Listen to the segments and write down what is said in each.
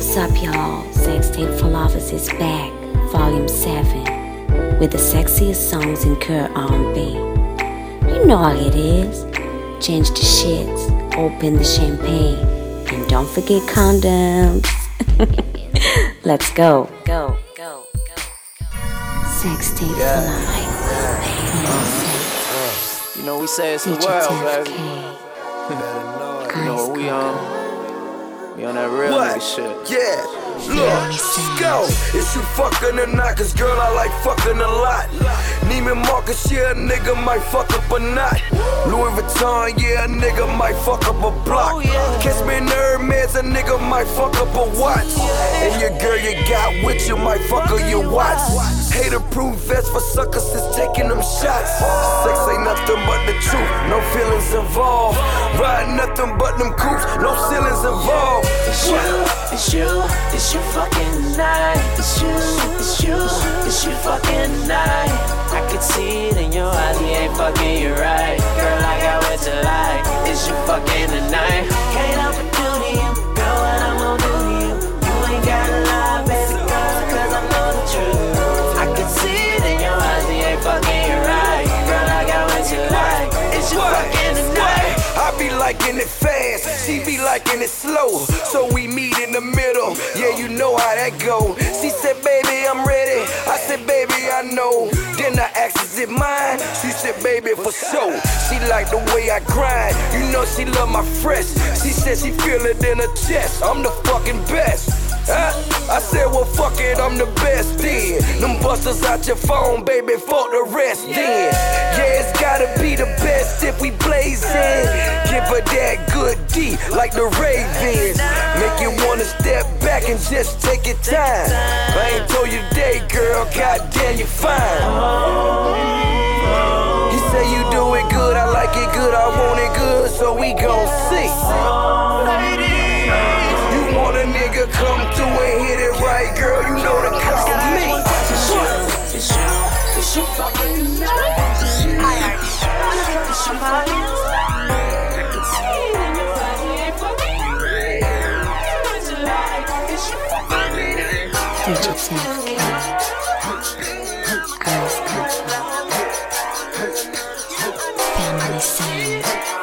What's up, y'all? Sex Tape for Lovers is back, Volume 7, with the sexiest songs in current R&B. You know how it is. Change the shits, open the champagne, and don't forget condoms. Let's go. Go. Sex Tape for Life. You know we say it's the world, baby. You know what we on? We on that real nigga shit. Yeah, look, go. Is you fucking or not? Cause girl, I like fucking a lot. Neiman Marcus, yeah, a nigga might fuck up a knot. Louis Vuitton, yeah, a nigga might fuck up a block. Catch me in the Hermes, a nigga might fuck up a watch. And your girl you got with you might fuck up your watch. Hater-proof vest for suckers is taking them shots. Sex ain't nothing but the truth, no feelings involved. Ride nothing but them coops, no ceilings involved. It's you fucking night. It's you fucking night. I can see it in your eyes, he ain't fucking you right. Girl, I got what you like. It's you fucking tonight. Can't help but do to you, girl, what I'm gon' do to you. You ain't gotta lie, baby girl, cause I know the truth. I can see it in your eyes, he ain't fucking you right. Girl, I got what you like. It's you fucking tonight. I be liking it fast, she be liking it slow. So we meet in the middle, yeah, you know how that go. She said, baby, I'm ready. I said, baby, I know. Then I asked, is it mine? She said, baby, for sure. She like the way I grind, you know she love my fresh. She said she feel it in her chest, I'm the fucking best. I said, well, fuck it, I'm the best then. Them busters out your phone, baby, fuck the rest then. Yeah, it's gotta be the best if we blazing. Give her that good D, like the Ravens. Make you wanna step back and just take your time. I ain't told you today, girl, goddamn, you fine. He say you do it good, I like it good, I want it good, so we gon' see. You want a nigga come through and hit it right, girl, you know to call me. It's you fucking night. It's you fucking Family Sound.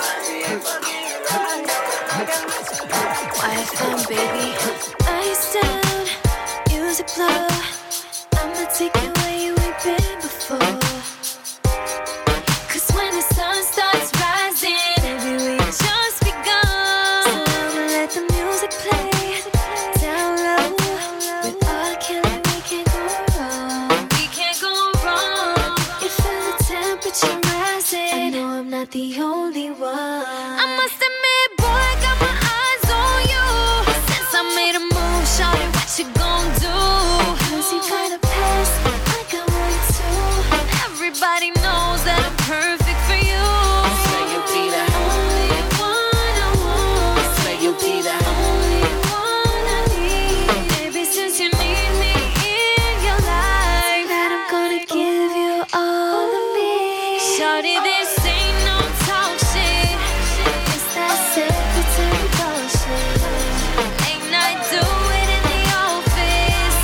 YFM, baby. Ice down, music blow. I'ma take you where you ain't been before. Cause when the sun starts rising, baby, we just begun. So I'ma let the music play down low. With R. Kelly, we can't go wrong. We can't go wrong. You feel the temperature rising. I know I'm not the only one. I must admit, boy, I got my eyes on you. Since I made a move, shawty, what you gon' do? Cause you got a past, I got one too. Everybody knows that I'm perfect for you. Say you be the only one I want. Say you be the only one I need. Baby, since you need me in your life, that I'm gonna give you all of me. Shawty, this ain't no talk shit. It's that secretary bullshit. Late night, do it in the office.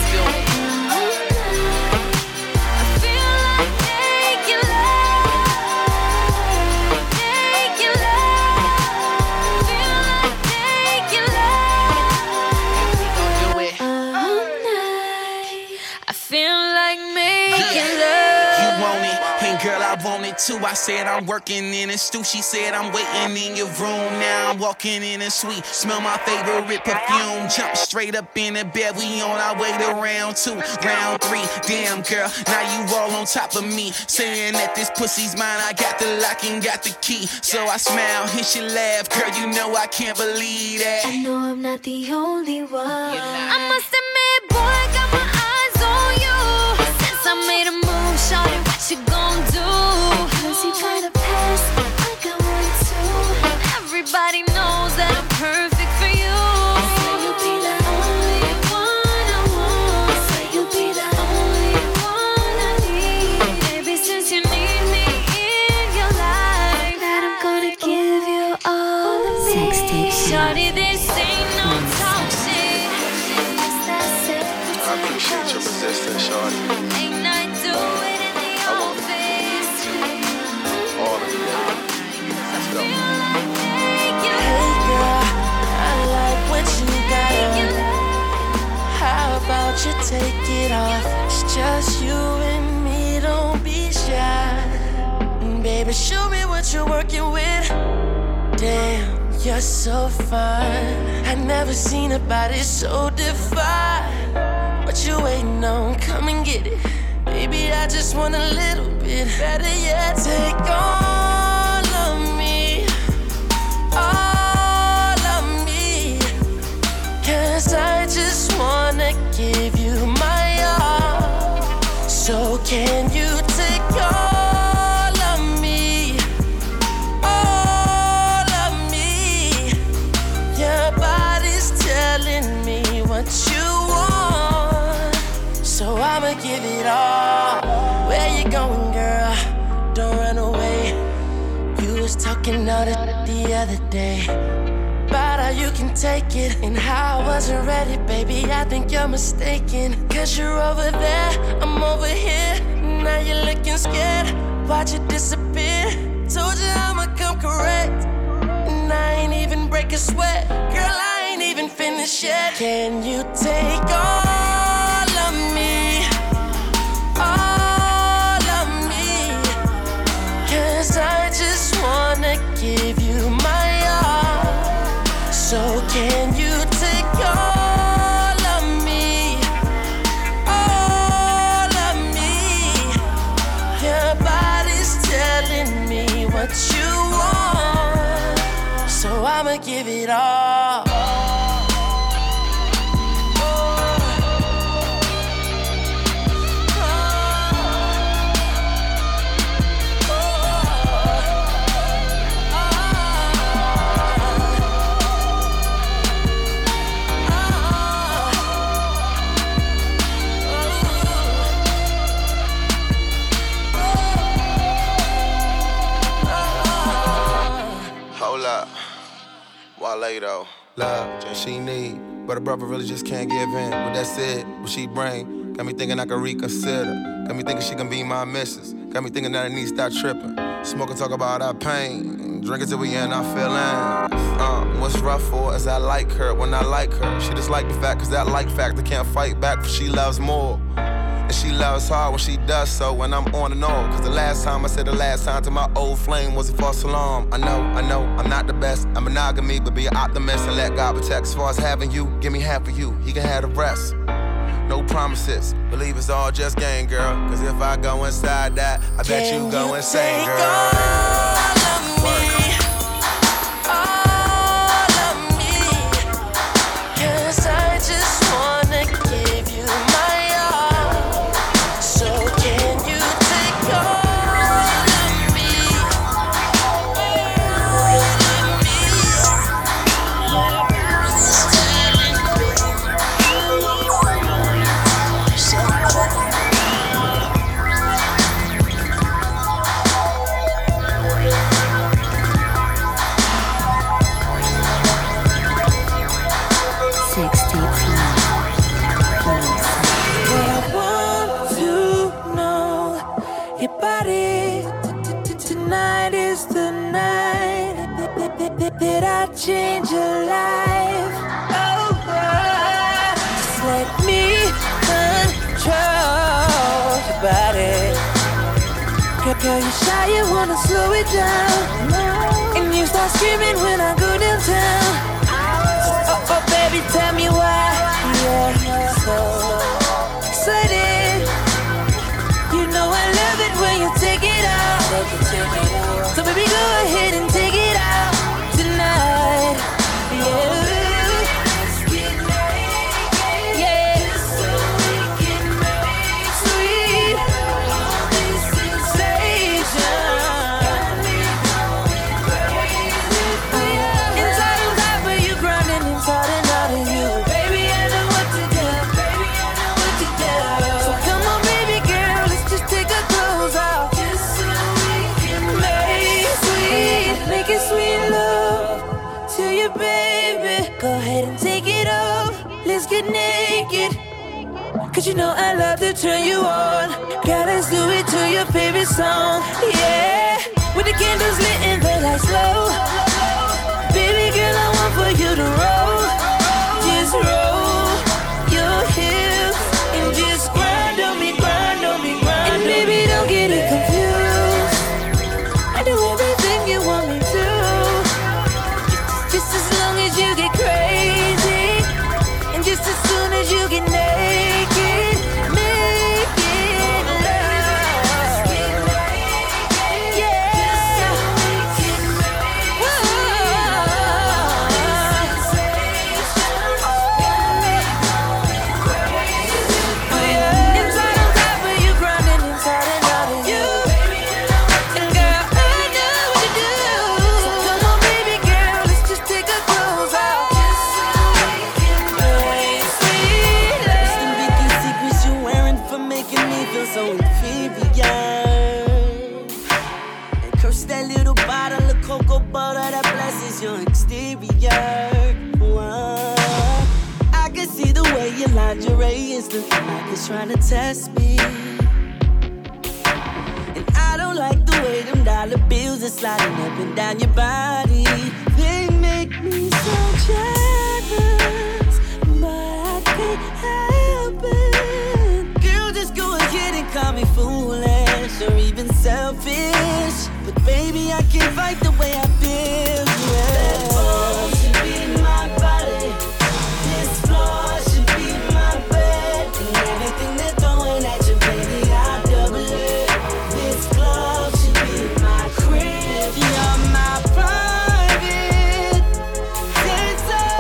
I feel like making love. Making love. Feel like making love. We gon' do it. All night. I feel like making You love. want it, and girl, I want it too. I said I'm working in a stew. She said I'm waiting in your room. Now I'm walking in a suite. Smell my favorite perfume. Jump straight up in the bed. We on our way to round 2, round 3. Damn, girl, now you all on top of me. Saying that this pussy's mine. I got the lock and got the key. So I smile and she laugh. Girl, you know I can't believe that. I know I'm not the only one. I must admit, boy, I got my eyes on you. Since I made a move, shawty, what you gon' do? Cause you got a past, I got one too. Everybody knows that I'm perfect for you. Say you'll be the only one I want. Say you'll be the only one I need. Baby, since you need me in your life, that I'm gonna give you all of me. Sex Tape for Shawty, Lovers. this ain't no talk shit. Ain't I do it in the office? All of you. Let's go. Hey girl, I like what you got on. How about you take it off? It's just you and me, don't be shy. Baby, show me what you're working with. Damn, you're so fine. I never seen a body so defined. What you waiting on? Come and get it. Baby, I just want a little bit. Better yet, take all of me. All of me. 'Cause I just wanna give you my all. So can you take all of me? All of me. Your body's telling me what you want. So I'ma give it all. Where you going, girl? Don't run away. You was talking all the other day about how you can take it and how I wasn't ready, baby. I think you're mistaken. 'Cause you're over there, I'm over here. Now you're looking scared. Watch it disappear. Told you I'ma come correct. And I ain't even break a sweat. Girl, I ain't even finished yet. Can you take all of me? All of me. 'Cause I just wanna give you my all. So can you take all of me? All of me. Your body's telling me what you want. So I'ma give it all. Hold up. Wale though. Love, she need, but a brother really just can't give in. With that said, what she bring, got me thinking I can reconsider. Got me thinking she can be my missus. Got me thinking that I need to start tripping. Smoke and talk about our pain. Drink until we in our feelings. What's rough for is I like her when I like her. She just like the fact, 'cause that like factor can't fight back, for she loves more. And she loves hard when she does so, when I'm on and on. 'Cause the last time I said the last time to my old flame was a false alarm. I know, I'm not the best. I'm monogamy, but be an optimist and let God protect. As far as having you, give me half of you. He can have the rest. No promises. Believe it's all just game, girl. 'Cause if I go inside that, I bet you go insane, girl. All of me. All of me. 'Cause I just wanna give you my all. So can you take all of me? All of me. Your body's telling me that I change your life. Oh, just let me control your body. Girl, you shy, you wanna slow it down. And you start screaming when I go downtown. Oh, baby, tell me why you're so excited. You know I love it when you take it out. So baby, go ahead and take it out tonight. Yeah. Go ahead and take it off. Let's get naked. 'cause you know I love to turn you on. Girl, let's do it to your favorite song. Yeah, with the candles lit and the lights low. Baby girl, I want for you to roll. Just roll your hips and just grind on me, grind on me, grind. And baby, don't get it confused. I do everything you want me to. Just as long as you get crazy, and just as soon as you get naked, make it love. Yeah. Inside on top of you, grinding inside and out of you. And girl, I know what to do. So come on, baby girl, let's just take our clothes off. It's the biggest secrets you're wearing for making me feel so inferior. And curse that little bottle of cocoa butter that blesses your exterior. Whoa. I can see the way your lingerie is looking like it's trying to test me. And I don't like the way them dollar bills are sliding up and down your body. They make me so jealous, but I can't help it. Girl, just go ahead and call me foolish or even selfish, but baby, I can't fight the way I feel. Yeah. That ball should be my body. This floor should be my bed. And everything they're throwing at you, baby, I double it. This club should be my crib. You're my private dancer.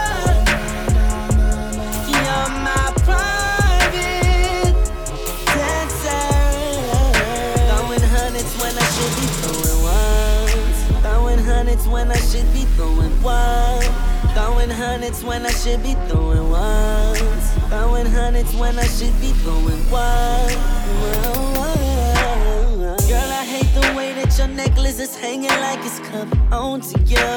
You're my private dancer. Throwing hundreds when I should be throwing ones. Throwing hundreds when I should be throwing one. Throwing hundreds when I should be throwing ones. Throwing hundreds when I should be throwing one. Girl, I hate the way that your necklace is hanging like it's coming onto you.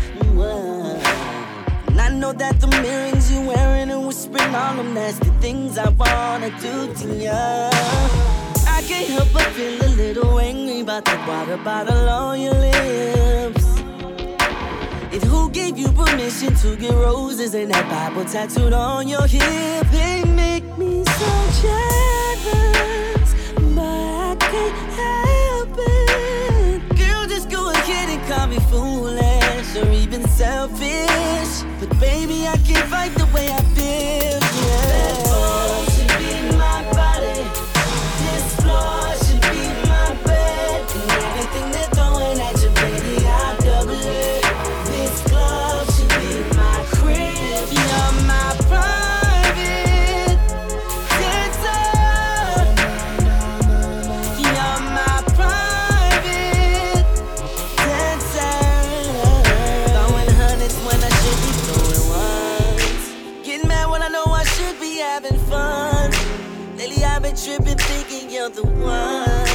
And I know that the earrings you wearing and whispering all them nasty things I wanna do to you. I can't help but feel a little angry about that water bottle on your lips. And who gave you permission to get roses and that Bible tattooed on your hip? They make me so jealous, but I can't help it. Girl, just go ahead and call me foolish or even selfish, but baby, I can't fight the way I feel. Yeah. That ball should be my body. This floor should be my bed. And everything they're throwing at you, baby, I double it. This club should be my crib. You're my private dancer. You're my private dancer. Throwing hundreds when I should be throwing ones. Getting mad when I know I should be having fun. Lately I've been tripping, thinking you're the one.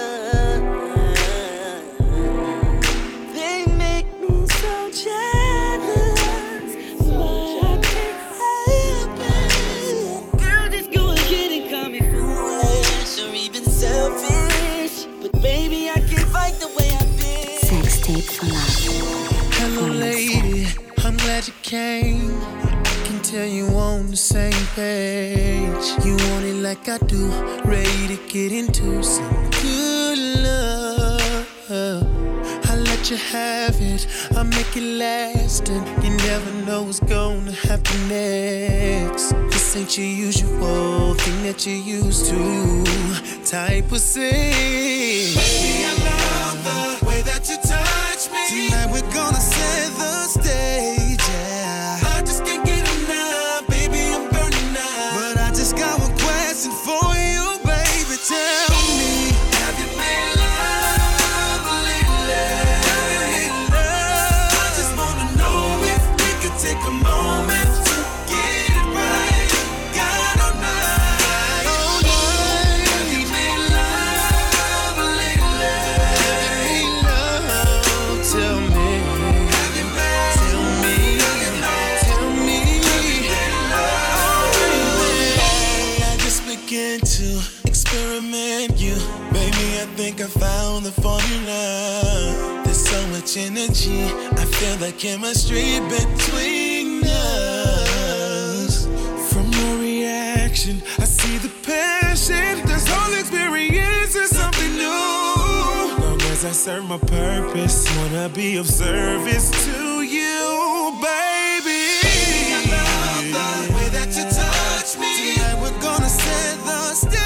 They make me so jealous, but I can't help it. Girl, just go ahead and call me foolish or even selfish, but baby, I can't fight the way I feel. Sex tape for life. Hello, lady, I'm glad you came. Can tell you on the same page. You want it like I do, ready to get into some good love. I'll let you have it, I'll make it last, and you never know what's gonna happen next. This ain't your usual thing that you used to type of thing. Baby, I love the way that you touch me. Tonight we're gonna set the stage, yeah. I just can't get enough, baby, I'm burning up. But I just got one question for you, baby, tell me. Have you made love lately? I just wanna know if we could take a moment to get it right. Got all night. Have you made love lately? Love, tell me. think I found the formula. There's so much energy, I feel the chemistry between us. From your reaction, I see the passion. This whole experience is something new. Long as I serve my purpose, wanna be of service to you, baby. I love the way that you touch me. Tonight we're gonna set the stage.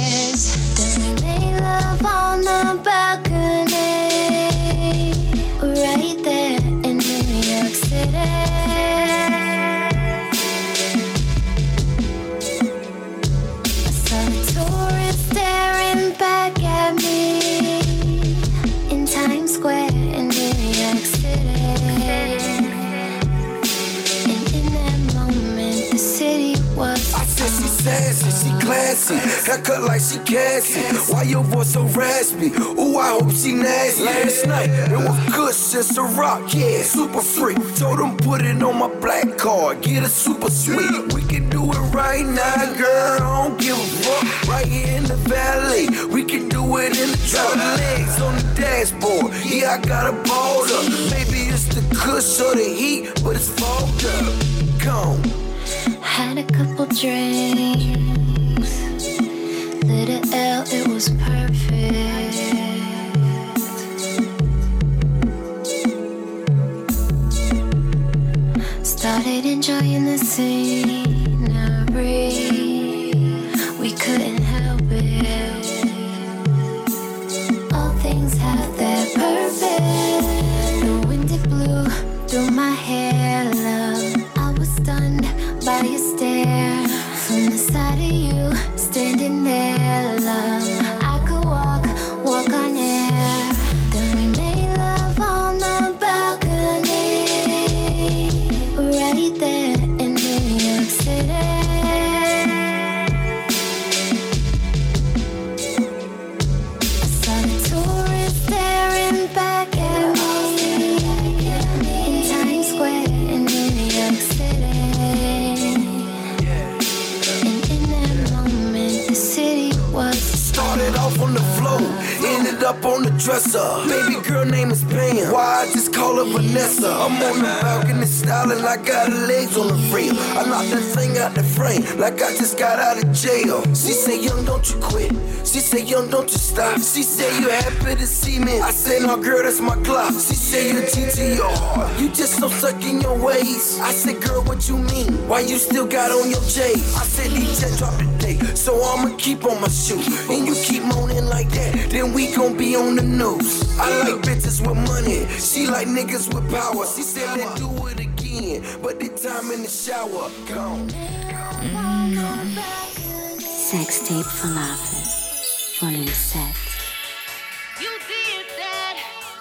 Then we made love on the balcony. classy. Haircut like she Cassie. Why your voice so raspy? Ooh, I hope she nasty. Last night, it was good shit, so rock, yeah, super free. Told them put it on my black card, get it super sweet. We can do it right now, girl, I don't give a fuck. Right here in the valley, we can do it in the truck. Legs on the dashboard, yeah, I got a boulder. Maybe it's the kush or the heat, but it's fogged up. Gone. Had a couple drinks, lit a L, it was perfect. Started enjoying the scenery, we couldn't help it. All things have their purpose. The wind it blew through my hair, love. I was stunned by your stare. From the side of you, standing there, love. I could walk on air. Then we made love on the balcony, right there in New York City. I saw the tourists staring back at me in Times Square in New York City. And in that moment, the city was Started off on the floor, ended up on the dresser. Baby girl name is Pam, why I just call her Vanessa. I'm on the balcony styling like I got her legs on the frame. I knocked that thing out the frame like I just got out of jail. She say, young, don't you quit. She say, young, don't you stop. She say, you happy to see me. I say, no, girl, that's my clock. She say, you TT your heart. You just so stuck in your ways. I said, girl, what you mean? Why you still got on your J's? I said, DJ drop the date, so I'ma keep on my shoe. And you keep moaning like that, then we gon' be on the news. I like bitches with money, she like niggas with power. She said, let's do it again, but this time in the shower. Gone. Sex tape Falafel, volume 7. You did that.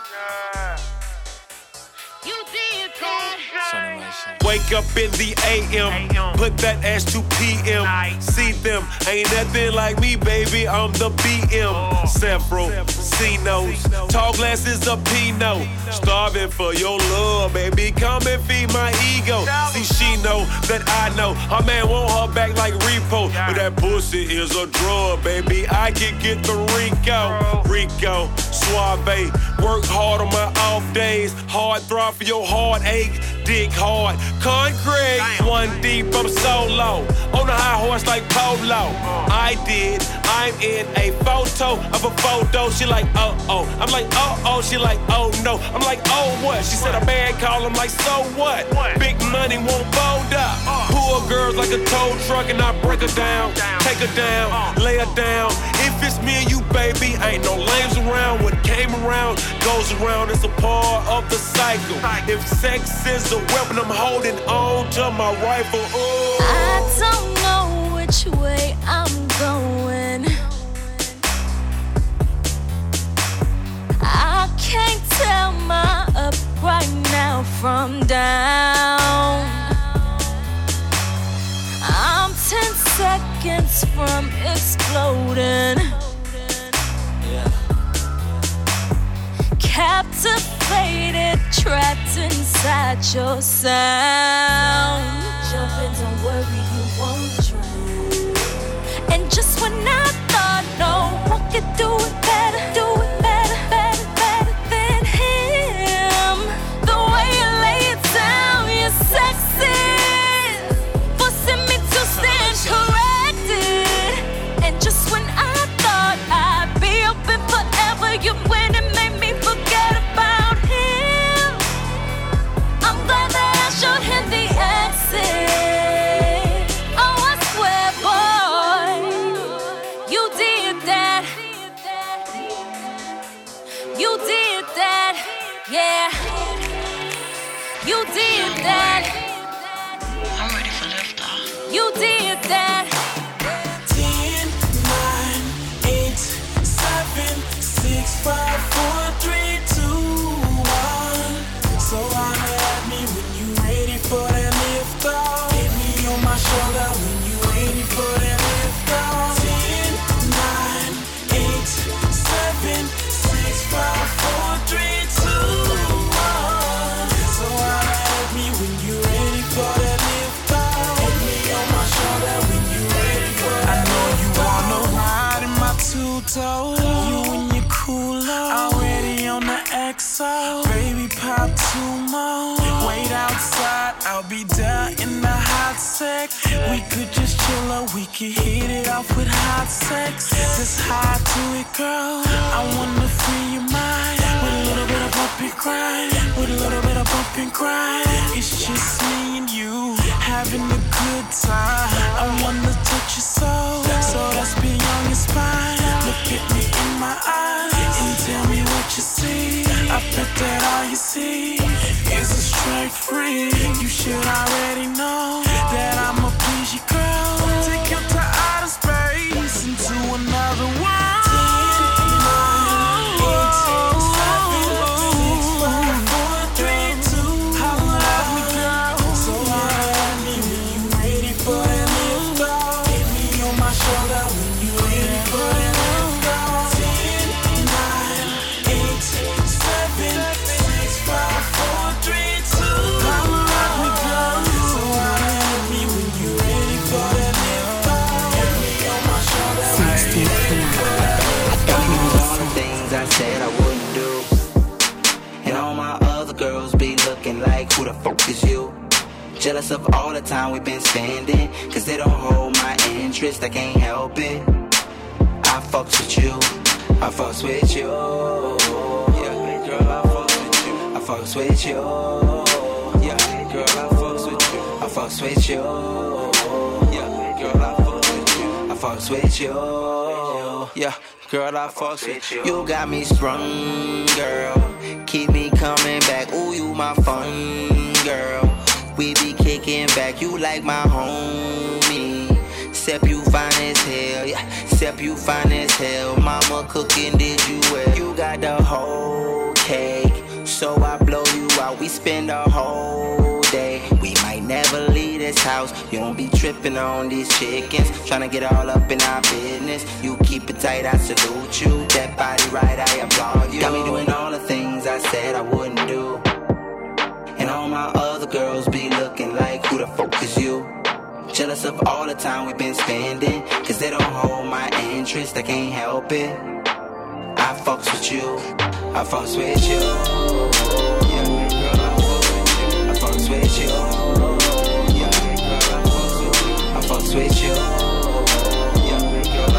You did that. Wake up in the AM, put that ass to PM. See them, ain't nothing like me, baby. I'm the BM. Several C-notes, tall glasses of Pinot. Starving for your love, baby. Come and feed my ego. See, she know that I know. Her man want her back like repo, but that pussy is a drug, baby. I can get the Rico, Suave. Work hard on my off days. Hard throb for your heartache. Dig hard, concrete. One deep, I'm solo. On a high horse like Polo. I'm in a photo of a photo. She like, oh. I'm like, oh. She like, oh no. I'm like, oh what? She said a man call him like, so what? Big money won't fold up. Pull girls like a tow truck and I break her down. Take her down, lay her down. If it's me and you, baby, ain't no lames around. What came around goes around. It's a part of the cycle. If sex is a weapon, I'm holding on to my rifle. Ooh. I don't know which way I'm going. I can't tell my up right now from down. I'm 10 seconds from exploding. Captivated, trapped inside your sound. Jump in, don't worry, you won't drown. And just when I thought no one could do it better, better than him. The way you lay it down, you're sexy, forcing me to stand corrected. And just when I thought I'd be open forever, you went and made me forget about him. I'm glad that I showed him the exit. Oh, I swear, boy, you did that. You did that, yeah. You did that. I'm ready for liftoff. You did that. 10, 9, 8, 7, 6, 5, 4, 3, 2, 1. So holler at me when you ready for that lift off. Hit me on my shoulder when you ready for that lift off. ghetto. You and your cooler, already on the XO. Baby, pop 2 more. Wait outside, I'll be down in the hot sex. We could just chill or we could hit it off with hot sex. Just hot to it, girl. I wanna free your mind with a little bit of bump and grind. With a little bit of bump and grind. It's just me and you having a good time. I wanna touch your soul, so let's be on your spine. Look at me in my eyes and tell me what you see. I bet that all you see is a straight freak. You should already know that I'ma please you, girl. Take you to outer space, into another world. 10, 9, 8, 7, 6, 5, 4, 3, 2. How love me, girl. So love me when you ready for that lift off. Hit me on my shoulder when you ready for that lift off. 10, 9, 8, 7, 6, 5, 4, 3, 2. How love me, girl. So love me when you ready for that lift off. Hit me on my shoulder. 16 All the things I said I wouldn't do. And all my other girls be looking like, who the fuck is you? Jealous of all the time we've been spending, cause they don't hold my interest, I can't help it. I fucks with you, I fucks with you. Yeah, girl, I fucks with you, I fucks with you. Yeah, girl, I fucks with you, I fucks with you. Yeah, girl, I fucks with you, I fucks with you. Yeah, girl, I fucks with you. You got me sprung, girl. Keep me coming back. Ooh, you my fun, girl. We be kicking back. You like my homie. Except you fine as hell, yeah. Except you fine as hell. Mama cooking, did you well? You got the whole cake, so I blow you out. We spend the whole day. We might never leave this house. You don't be tripping on these chickens, tryna get all up in our business. You keep it tight, I salute you. That body right, I applaud you. Got me doing all the things I said I wouldn't do. And all my other girls be looking like, who the fuck is you? Jealous of all the time we've been spending, cause they don't hold my interest, I can't help it. I fucks with you, I fucks with you. Yeah, girl, I fucks with you. Yeah, girl, I fucks with you. Yeah, girl,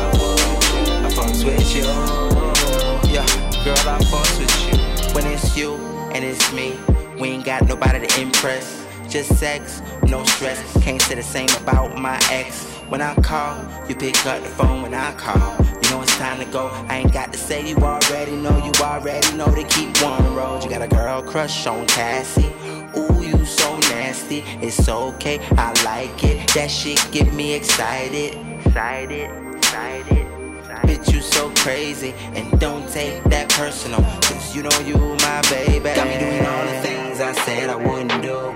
I fucks with you. Yeah, girl, I fucks with you. When it's you and it's me, we ain't got nobody to impress. Just sex, no stress. Can't say the same about my ex. When I call, you pick up the phone when I call. You know it's time to go. I ain't got to say, you already know. You already know to keep one road. You got a girl crush on Cassie. Ooh, you so nasty. It's okay, I like it. That shit get me excited. Excited. Bitch, you so crazy. And don't take that personal, cause you know you my baby. Got me doing all the things I said I wouldn't do.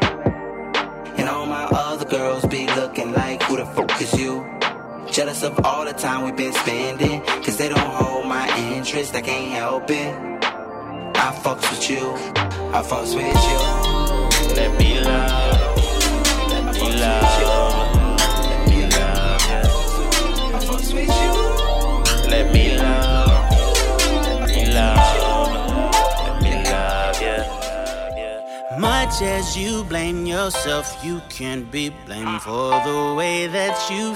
And all my other girls be looking like, who the fuck is you? Jealous of all the time we've been spending, cause they don't hold my interest, I can't help it. I fucks with you, I fucks with you. Let me love, let me love, let me love, yeah. I fucks with you. Let me love, let me love, let me love, yeah. Much as you blame yourself, you can't be blamed for the way that you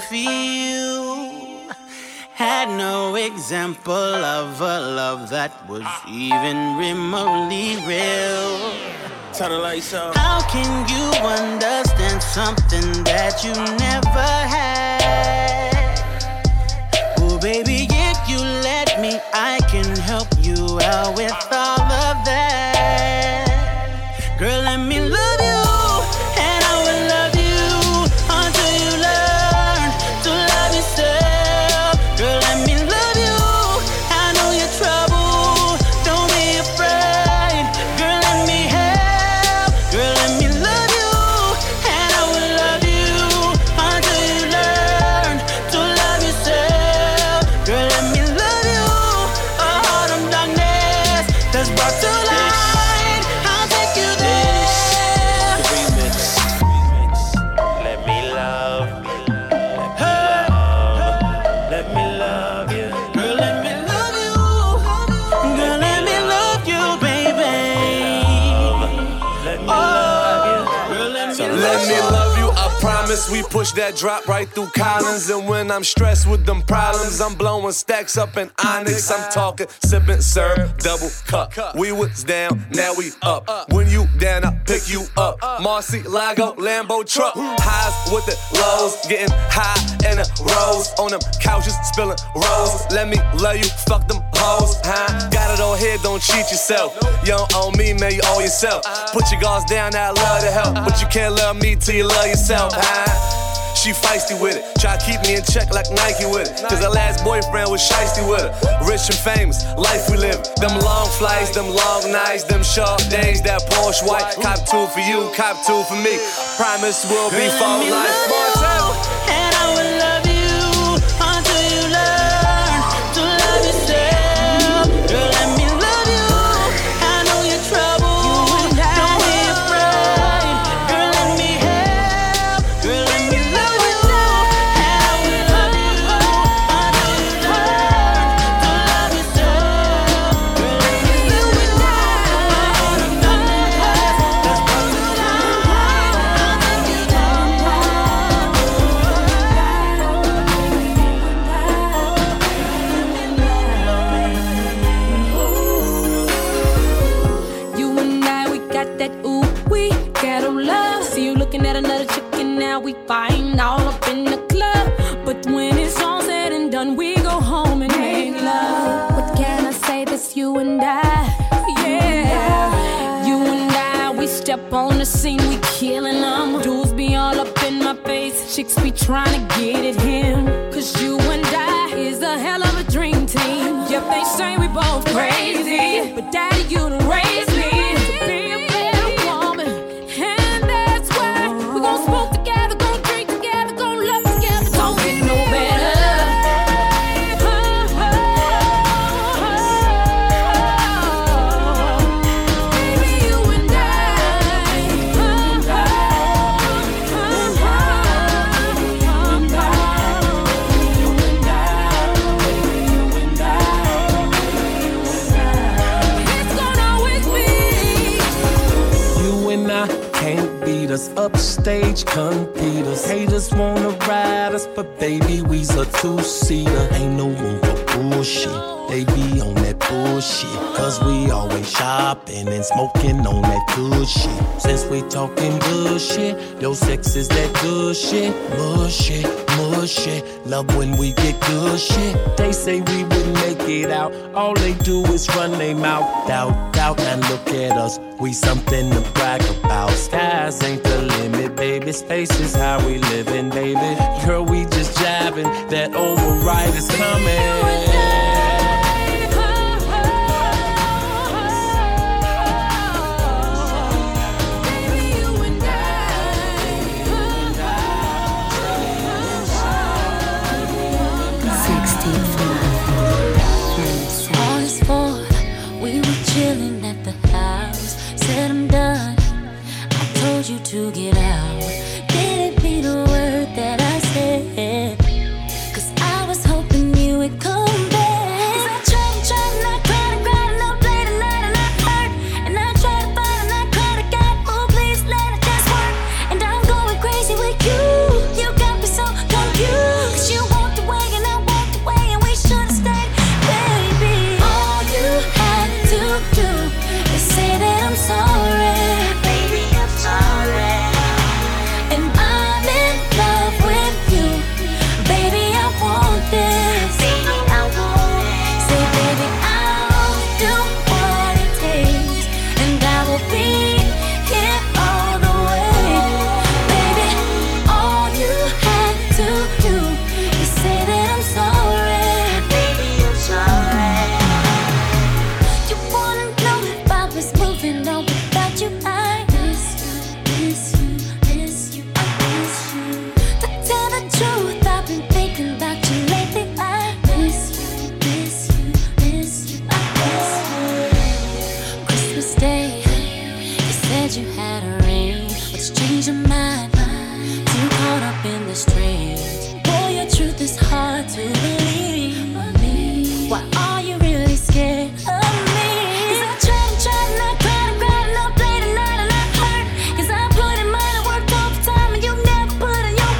feel. Had no example of a love that was even remotely real. Turn the lights on. How can you understand something that you never had? Oh baby, if you let me, I can help you out with all of that. Girl, let me love you, and I will love you until you learn to love yourself. Girl, let me love you, I know you're trouble, don't be afraid. Girl, let me help. Girl, let me love you, and I will love you until you learn to love yourself. Girl, let me love you, a heart of darkness that's brought to life. Promise we push that drop right through Collins. And when I'm stressed with them problems, I'm blowing stacks up in Onyx. I'm talking, sipping, serve, double cup. We was down, now we up. When you down, I pick you up. Marcy, Lago, Lambo truck. Highs with the lows, getting high in the rows. On them couches, spilling rolls. Let me love you, fuck them hoes, huh? Got it all here, don't cheat yourself. You don't own me, man, you owe yourself. Put your guards down, I love to help. But you can't love me till you love yourself, huh? She feisty with it, try to keep me in check like Nike with it. Cause her last boyfriend was shiesty with her. Rich and famous, life we live. Them long flights, them long nights, them short days, that Porsche white. Cop 2 for you, cop 2 for me. Promise we'll be for life. And I will love you until you learn to love yourself. Girl, let me love you. I know you're troubled. Don't be afraid. Girl, let me help. Girl, let me love you. And I will love you until you learn to love yourself. Girl, let me love you. You and I, we got that ooh, we got love. See you looking at another chick and now we fighting all up in the club. But when it's all said and done, we go home and make love. What can I say? That's you and I, yeah. You and I, we step on the scene, we killing them. Dudes be all up in my face, chicks be trying to get at him. Cause you and I is a hell of a dream team. Yep, they say we both crazy, but daddy, you done raised me to be a better woman. And that's why we gon' smoke together, gon' drink together, gon' love together. Don't get no better. Baby, you and it's gonna always be. You and I can't beat us, upstage compete us. Haters wanna ride us, but baby, we's a two-seater. Ain't no room for bullshit. They be on that bullshit. Cause we always shopping and smoking on that good shit. Since we talking good shit, your sex is that good shit. Bullshit, bullshit. Love when we get good shit. They say we wouldn't make it out. All they do is run their mouth. Doubt, doubt, and look at us. We something to brag about. Skies ain't the limit, baby. Space is how we living, baby. Girl, we just jabbing. That override is coming. All is for, we were chilling at the house. Said I'm done, I told you to get out. Didn't mean a word that I said, cause I was hoping you would come back. Cause I tried and I cried and cried and I played the night and I hurt. And I tried to fight and I cried to God, oh please let it just work. And I'm going crazy with you, you got me so confused. Cause you walked away and I walked away and we should've stayed, baby. All you had to do is say that I'm sorry. Baby, I'm sorry. And I'm in love with you. Baby, I want this. Baby, I want it. Say, baby, I'll do what it takes. And I will be here all the way. Baby, all you had to do is say that I'm sorry. Baby, I'm sorry. You wanna know if I was moving on without you? I miss you, miss you, miss you, I miss you. To tell the truth, I've been thinking about you lately. I miss you, miss you, miss you, I miss you. Christmas Day, you said you had a ring. What's changed your mind? Too caught up in the strings. Boy, your truth is hard to believe. Why are you really scared of me? Cause I tried and I cried and cried and I played the night and I hurt. Cause I put in mine and worked all the time and you never put in your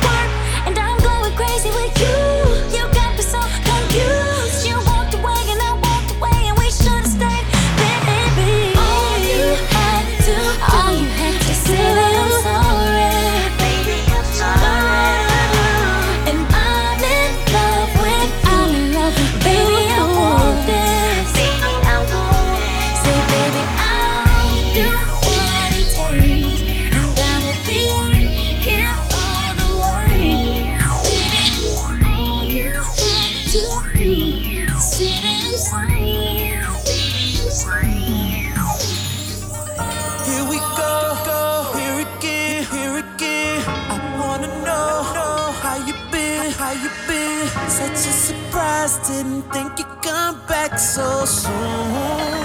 just didn't think you'd come back so soon.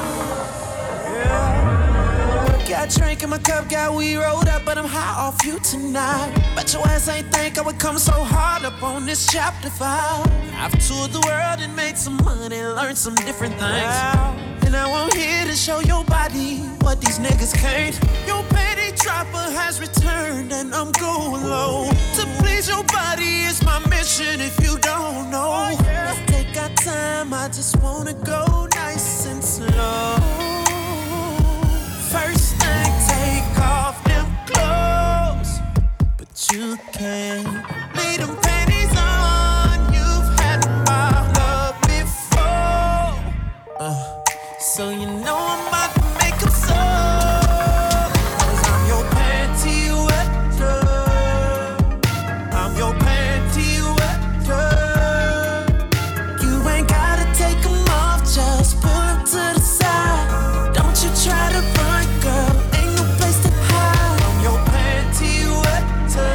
Got drink in my cup, got weed rolled up, but I'm high off you tonight. Bet your ass ain't think I would come so hard up on this chapter 5. I've toured the world and made some money, learned some different things. And now I'm here to show your body what these niggas can't. Your petty dropper has returned and I'm going low. To please your body is my mission if you don't know. Let's take our time, I just wanna go nice and slow. First thing, take off them clothes, but you can't leave them panties on. You've had my love before, so you know I'm about to make them so. 'Cause I'm your panty wetter, I'm your panty wetter. You ain't gotta take them off, just pull them to the side. Don't you try to run, girl, ain't no place to hide. I'm your panty wetter,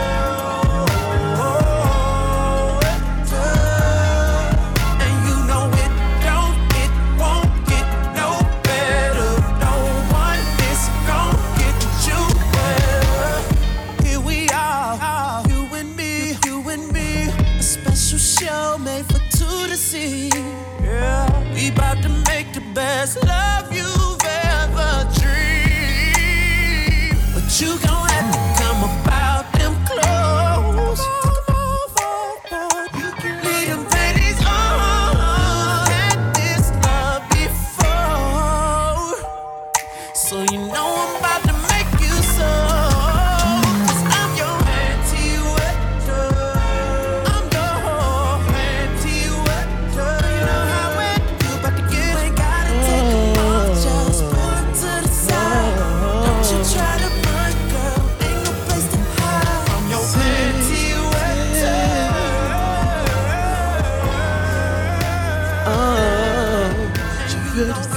and you know it won't get no better. No one is gon' get you better. Here we are, you and me, a special show made for two to see. Yeah, we bout to make the best love you've ever dreamed. But you gon' have to come about them clothes. Leave them panties on. Had this love before, so you know I'm about to make you so. 'Cause I'm your panty wetter, I'm your panty wetter. You know how it you about to get. You ain't gotta take them off, just pull them to the side. Don't you try to run, girl, ain't no place to hide. I'm your panty wetter. Je veux le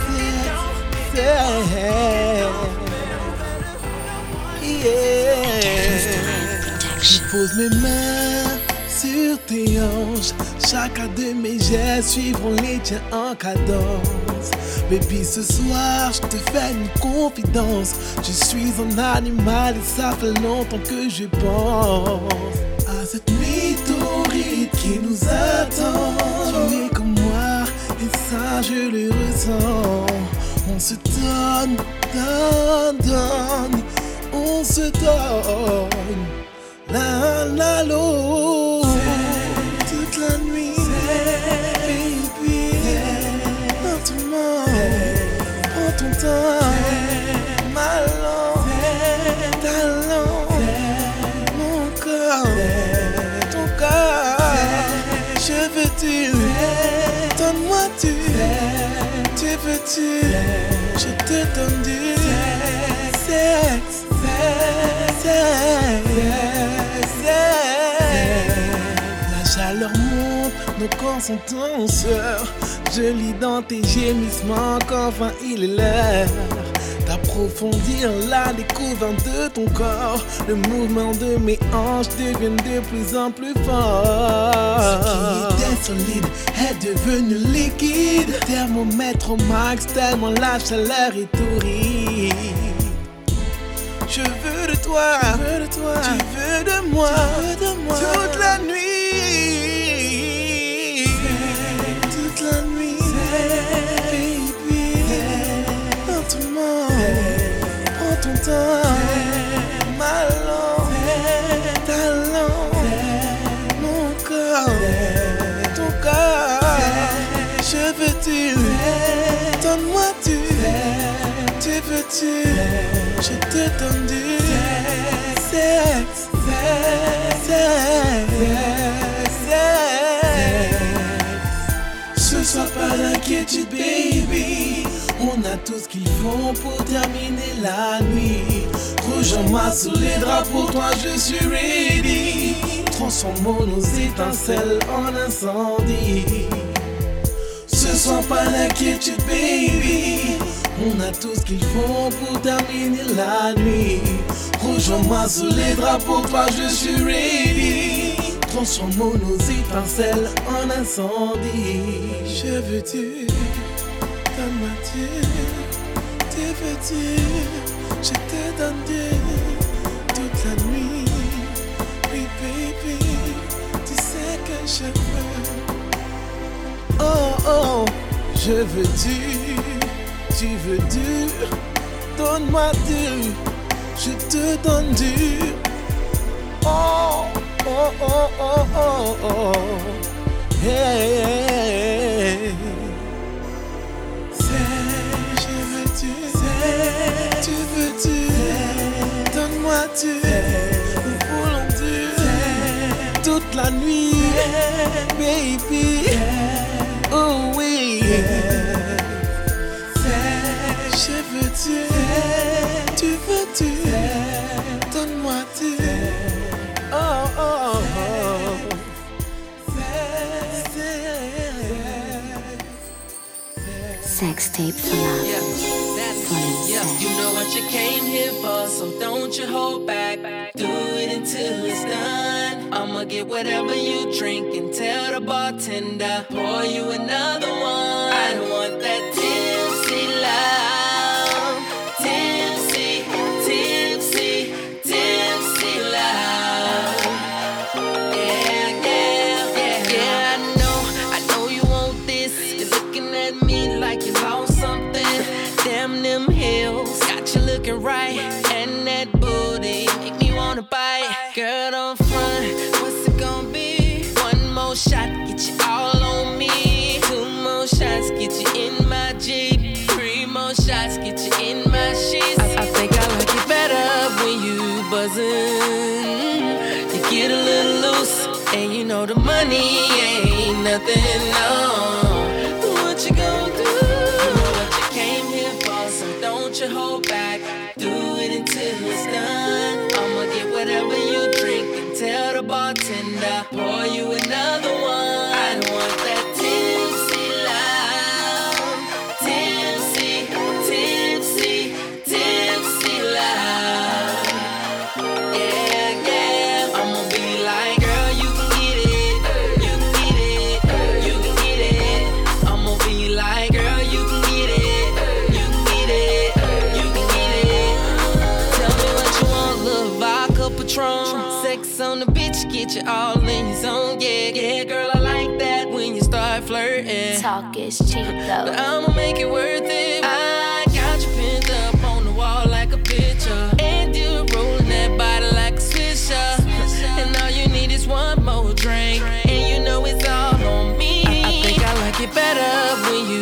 Je pose mes mains sur tes hanches. Chacun de mes gestes suivront les tiens en cadence. Baby, ce soir, je te fais une confidence. Je suis un animal et ça fait longtemps que je pense à cette nuit torride qui nous attend. Tu es comme moi et ça je le ressens. On se donne, on se donne l'un à l'autre toute la nuit, baby. Lentement, prends ton temps, ma langue, ta langue, mon corps, ton corps. Je veux tu, donne-moi tu veux-tu, je te donne du sexe. La chaleur monte, nos corps sont en sueur. Je lis dans tes gémissements qu'enfin il est l'heure d'approfondir la découverte de ton corps. Le mouvement de mes hanches devient de plus en plus fort. Ce qui était solide est devenu liquide. Thermomètre au max, tellement la chaleur est torride. Je veux de toi, tu veux de moi, toute la nuit, toute la nuit, baby. Lentement, prends ton temps, ma langue, ta langue, mon corps, ton corps. Je veux tu, donne-moi tu veux-tu, je te donne du sexe. Ce soir pas d'inquiétude baby, on a tout ce qu'il faut pour terminer la nuit. Rejoins-moi sous les draps, pour toi je suis ready. Transformons nos étincelles en incendie. Ce soir pas d'inquiétude baby, on a tout ce qu'il faut pour terminer la nuit. Rejoins-moi sous les draps, pour toi je suis ready. transforme nos étincelles en incendie. Je veux tu, donne-moi tu, tu veux tu, je te donne Dieu toute la nuit. Oui baby, tu sais que je veux. Oh oh, je veux tu veux du, donne-moi du, je te donne du. Oh oh oh oh oh oh, hey, hey, hey. Je veux tu veux tu, donne-moi tu, nous voulons du, toute la nuit, baby, oh oui. Je veux tu veux tu, donne-moi tu, oh oh oh. Sex tape for love. You know what you came here for, so don't you hold back. Do it until it's done. I'ma get whatever you drink and tell the bartender, pour you another one. I don't want that tipsy love. Tipsy, tipsy, tipsy love. Yeah, yeah, yeah, yeah. I know you want this. You're looking at me like you lost something. Damn them heels, got you looking right. And that booty make me wanna bite. Girl, don't front, what's it gonna be? One more shot, get you all on me. Two more shots, get you in my Jeep. Three more shots, get you in my sheets. I think I like it better when you buzzing. You get a little loose, and you know the money ain't nothing, no. What you gonna do? You know what you came here for, so don't you hold back. Do it until it's done. I'ma get whatever you drink and tell the bartender, pour you another one. I don't want that tipsy love. Tipsy, tipsy, tipsy love. Yeah, yeah. I'ma be like, girl, you can get it. You can get it. You can get it. I'ma be like, girl, you can get it. You can get it. You can get it. Tell me what you want, little vodka Patron. Sex on the bitch, get you all in your zone. Yeah, yeah, girl, I like that when you start flirting. Talk is cheap though. But I'ma make it worth it. I got you pinned up on the wall like a picture, and you're rolling that body like a swisher. And all you need is one more drink, and you know it's all on me. I think I like it better when you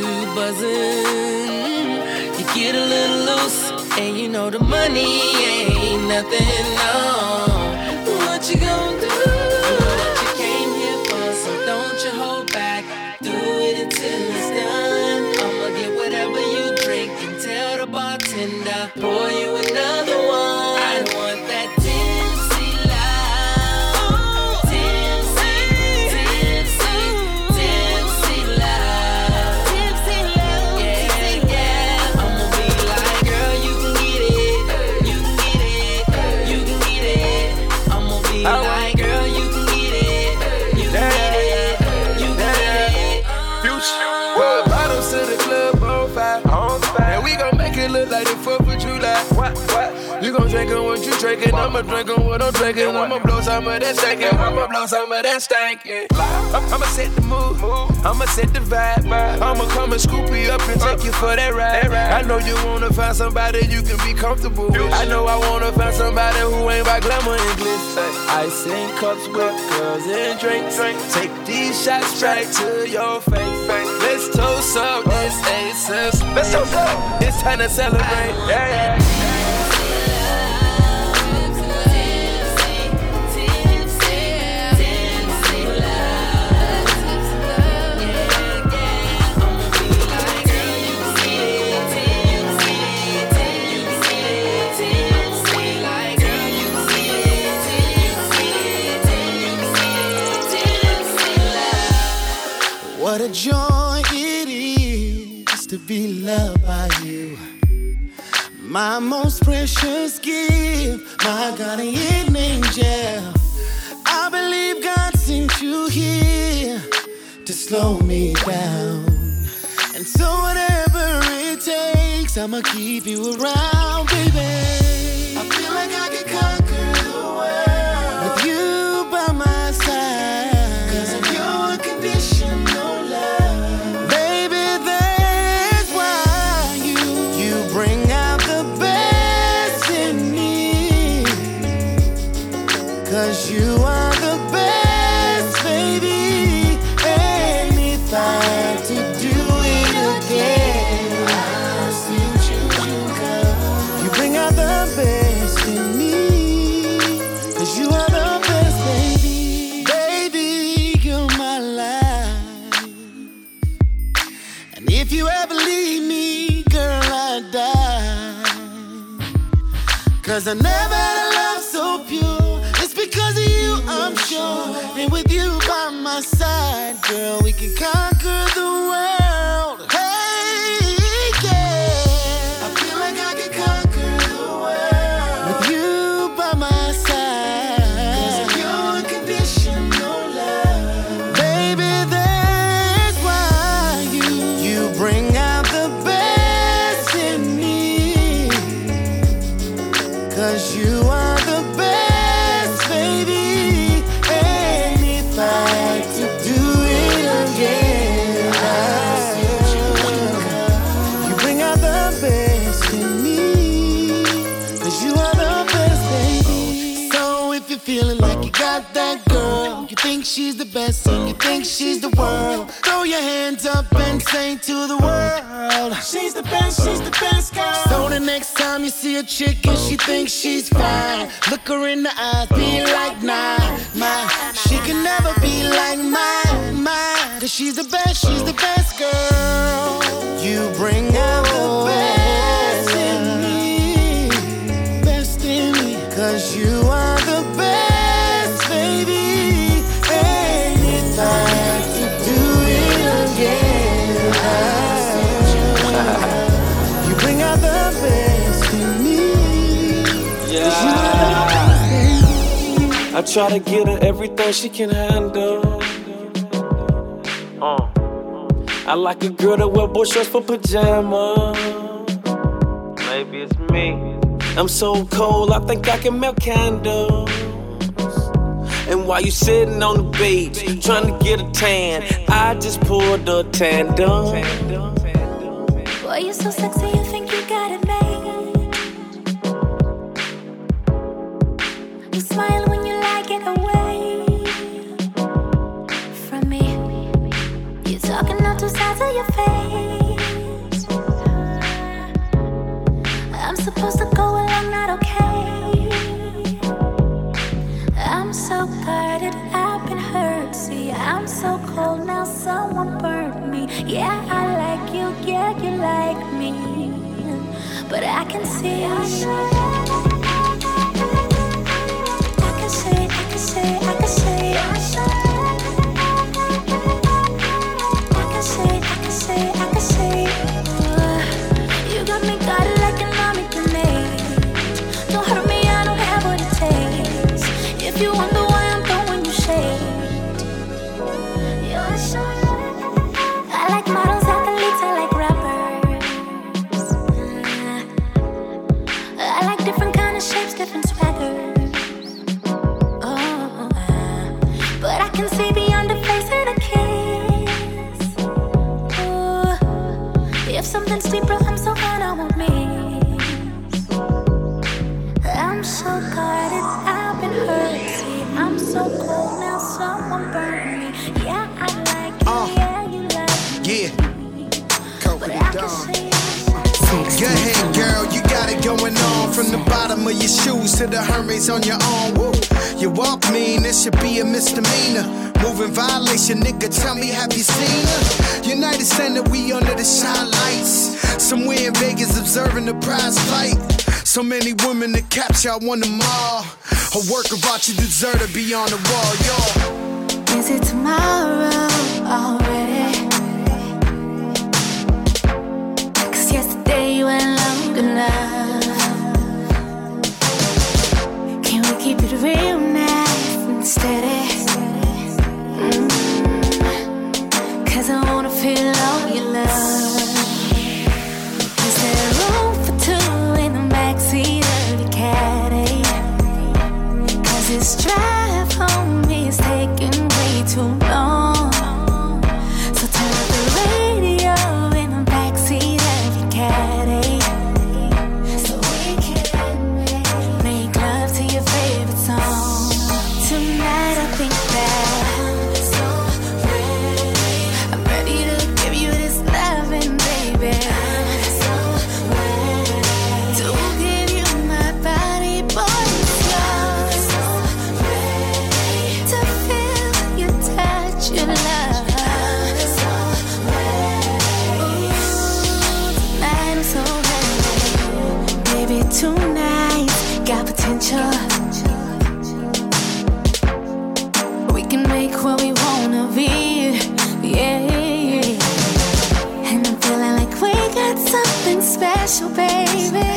buzzing. You get a little loose, and you know the money ain't nothing, no. What you gonna do? You know what you came here for, so don't you hold back. Do it until it's done. I'ma get whatever you drink and tell the bartender, pour you another one. I don't want that tipsy love. Tipsy, tipsy, tipsy love. Tipsy love. Yeah, yeah. I'ma be like, girl, you can get it. You can get it. You can get it. I'ma be like, girl, you can get it. You can get it. You can get it. Future. Well, bottles to the club on fire. And we gon' make it look like the 4th of July. What? You gon' drinkin' what you drinkin', I'ma drinkin' what I'm drinkin'. I'ma blow some of that stankin', I'ma blow some of that stankin'. I'ma set the mood, I'ma set the vibe. I'ma come and scoop you up and take you for that ride. I know you wanna find somebody you can be comfortable with. I know I wanna find somebody who ain't by glamour and glitz. Ice in cups with girls and drinks. Take these shots straight to your face. Let's toast up this aces. Let's toast up. It's time to celebrate. Yeah. What a joy it is to be loved by you. My most precious gift, my guardian angel. I believe God sent ain't you here to slow me down? And so whatever it takes, I'ma keep you around, baby. I feel like I can conquer the world with you by my side, 'cause of your unconditional love. Baby, that's why you bring out the best in me, 'cause you are the best, baby. And if I had to do it again, I'll still choose you, girl. You bring out the best in me, 'cause you are the best, baby. Baby, you're my life. And if you ever leave me, girl, I die. 'Cause I never had a love so pure. It's because of you, I'm sure. And with you by my side, girl, we can conquer the world. Hey, yeah. I feel like I can conquer the world with you by my side, 'cause of your unconditional love. Baby, that's why you bring out the best in me, 'cause you are the best, baby. And if I had to do it again, you bring out the best in me, 'cause you are the best, baby. So if you're feeling like you got that girl, you think she's the best and you think she's the world, throw your hands up and say to the world, she's the best girl. So the next time you see a chick and she thinks she's fine, look her in the eyes, be like, nah, she can never be like mine, 'cause she's the best girl. You bring out the best in me, 'cause you are the best, baby. And if I had to do it again, you bring out the best in me. I try to get her everything she can handle. I like a girl that wear boy shorts for pajamas. Maybe it's me. I'm so cold, I think I can melt candles. And while you sitting on the beach, trying to get a tan, I just pulled a tandem. Boy, you're so sexy, you think you got it made. You smile when you like it away from me. You're talking out two sides of your face. I'm supposed to go along, not okay. I'm so guarded, I've been hurt. See, I'm so cold now, someone burned me. Yeah, I like you, yeah, you like me, but I can see I can see, I can see, I can see, I can see, I can see. You got me guarded like an army grenade. Don't hurt me, I don't have what it takes. If you wonder why I'm throwing you shade, you're so. I like models, athletes, I like rappers. I like different kind of shapes, different swaggers. But I can see beyond the face of the kiss. If something's deeper, I'm so hard, I won't miss. I'm so guarded, I've been hurt. See, I'm so cold now, someone burned me. Yeah, I like you, yeah, you like me. Yeah. But I can see. Go ahead, girl, you got it going on. From the bottom of your shoes to the Hermes on your arm. Woo. You walk mean, this should be a misdemeanor. Moving violation, nigga, tell me, have you seen her? United Center, we under the shine lights. Somewhere in Vegas, observing the prize fight. So many women to capture, I want them all. A work of art, you deserve to be on the wall, y'all. Is it tomorrow already? 'Cause yesterday went long enough. Can we keep it real nice and steady? future. We can make what we wanna be, yeah. And I'm feeling like we got something special, baby.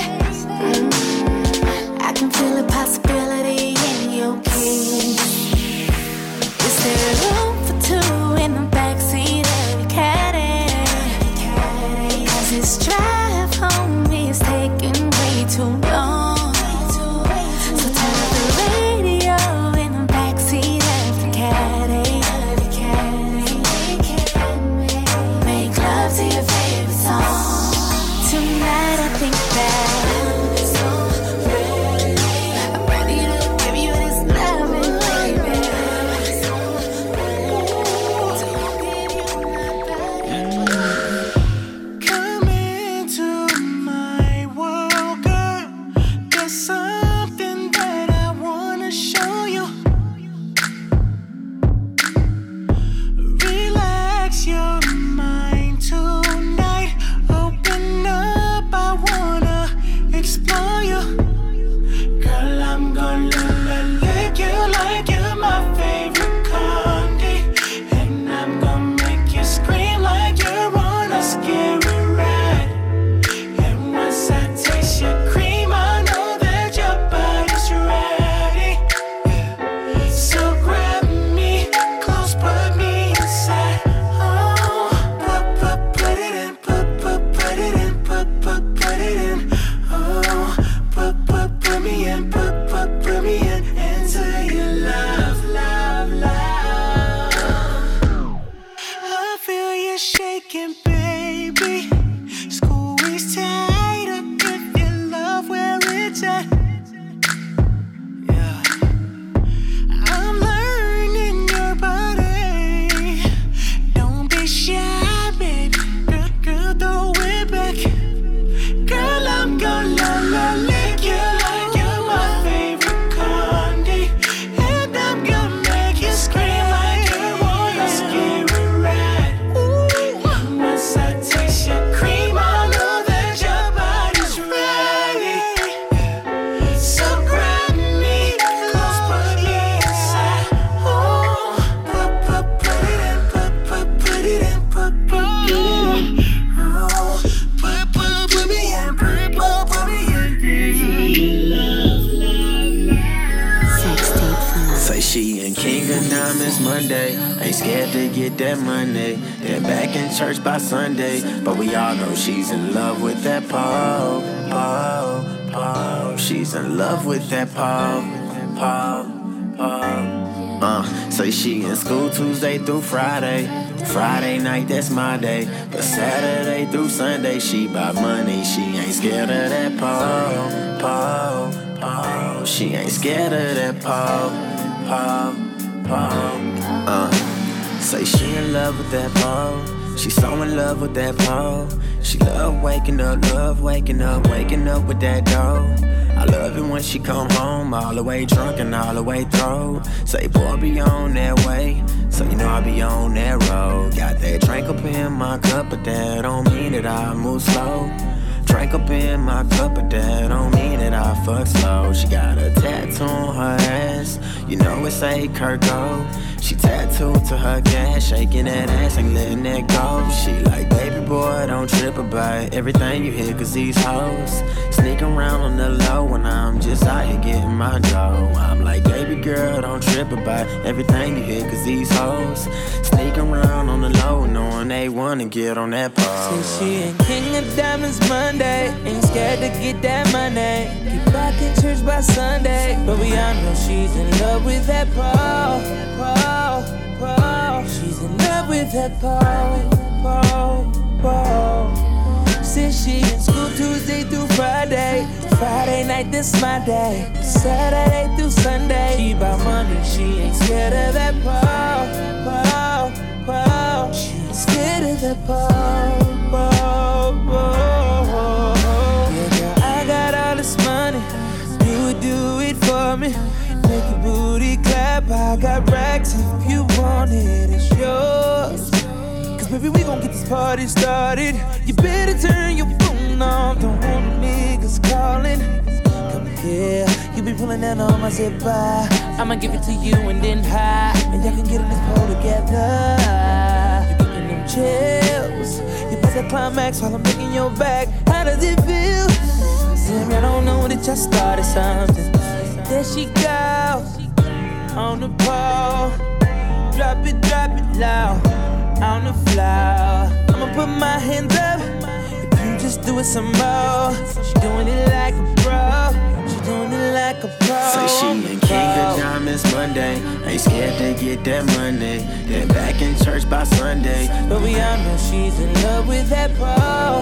I can feel a possibility in your kiss. Is there room for two in the backseat of your caddy? 'Cause this drive home is taking way too long. So turn up the radio in the backseat of the caddy. Make love to your favorite song. Tonight I think that church by Sunday, but we all know she's in love with that Paul. She's in love with that Paul. Say she in school Tuesday through Friday. Friday night, that's my day. But Saturday through Sunday, she bout money. She ain't scared of that Paul. She ain't scared of that Paul. Say she in love with that Paul. She so in love with that Paul. She love waking up with that dough. I love it when she come home all the way drunk and all the way through. Say, boy, be on that way. So you know I be on that road. Got that drink up in my cup, but that don't mean that I move slow. Drink up in my cup, but that don't mean that I fuck slow. She got a tattoo on her ass, you know it say Kirko. She tattooed to her gas, shaking that ass, ain't letting that go. She like, baby boy, don't trip about everything you hear, 'cause these hoes sneak around on the low when I'm just out here getting my dough. I'm like, baby girl, don't trip about everything you hear, 'cause these hoes sneak around on the low, knowing they wanna get on that pole. Since she ain't king of diamonds Monday, ain't scared to get that money. Keep back in church by Sunday, but we all know she's in love with that Paul. She's in love with that Paul. Since she in school Tuesday through Friday. Friday night, this my day. Saturday through Sunday, she bout money, she ain't scared of that Paul. She ain't scared of that Paul. Yeah, girl, I got all this money. You would do it for me. Make your booty clap. I got racks if you want it, it's yours. 'Cause baby, we gon' get this party started. You better turn your phone off, don't want niggas calling. Come here, you be pulling down on my zip bar. I'ma give it to you and then high, and y'all can get in this pole together. You getting them chills. You pass the climax while I'm licking your back. How does it feel? Damn, I don't know that y'all started something. There she goes on the pole. Drop it loud on the floor. I'ma put my hands up. If you just do it some more. She doing it like a pro. She doing it like a pro. Say she ain't king of diamonds Monday. Ain't scared to get that money. Then back in church by Sunday. But we all know she's in love with that pole.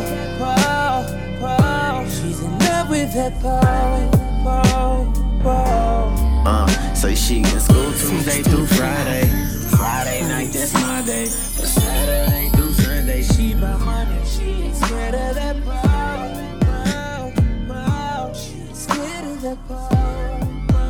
She's in love with that pole. Say she in school Tuesday through Friday. Friday night, that's my day. But Saturday through Sunday, she by money. She ain't scared of that pole. She ain't scared of that pole.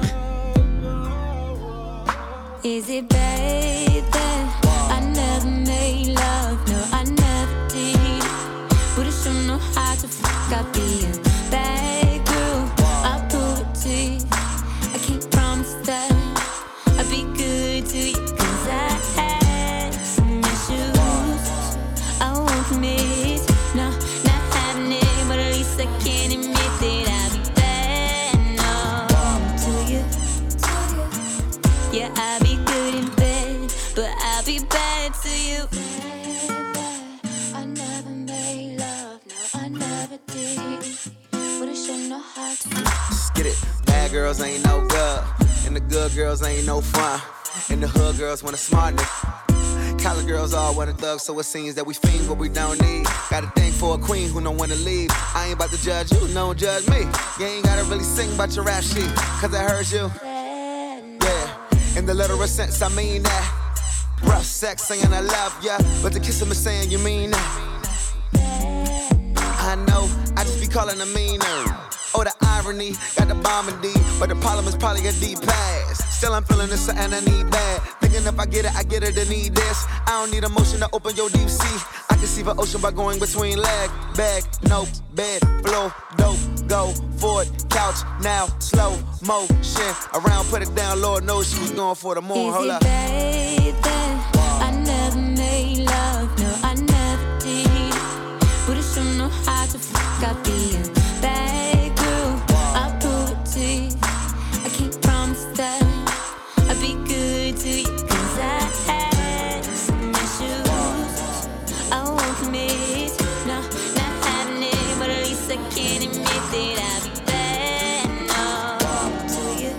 Is it bad that I never made love? No, I never did. But I sure know how to fuck up being bad girl. I'll prove it to you. I can't promise that I'll be good to you, 'cause I had some issues I won't commit. No, not having it, but at least I can admit that I'll be bad. No, to you. Yeah, I'll be good in bed, but I'll be bad to you. I never made love, no, I never did. But I sure know how to. Get it. Bad girls ain't no good, and the good girls ain't no fun. And the hood girls want a smart nigga. College girls all want a thug, so it seems that we fiend what we don't need. Got a thing for a queen who don't wanna leave. I ain't about to judge you, no one judge me. You ain't gotta really sing about your rap sheet, 'cause I heard you. Yeah, in the literal sense, I mean that. Rough sex saying I love ya, but to kiss him is saying you mean that. I know, I just be calling a meaner. Oh, the irony, got the bomb in D, but the problem is probably a deep pass. Still I'm feeling this and I need bad. Thinking if I get it, and need this. I don't need emotion to open your deep sea. I can see the ocean by going between leg, bag, no, bed, flow, dope, go, forward, couch, now, slow, motion. Around, put it down, Lord knows she was going for the moon. Hold up. Is it bad that I never made love? No, I never did. But I sure know how to fuck up being bad girl. I'll prove it to you. I can't promise that I'll be good to you, 'cause I had some issues I won't commit. No, not having it, but at least I can admit that I'll be bad. No, to you.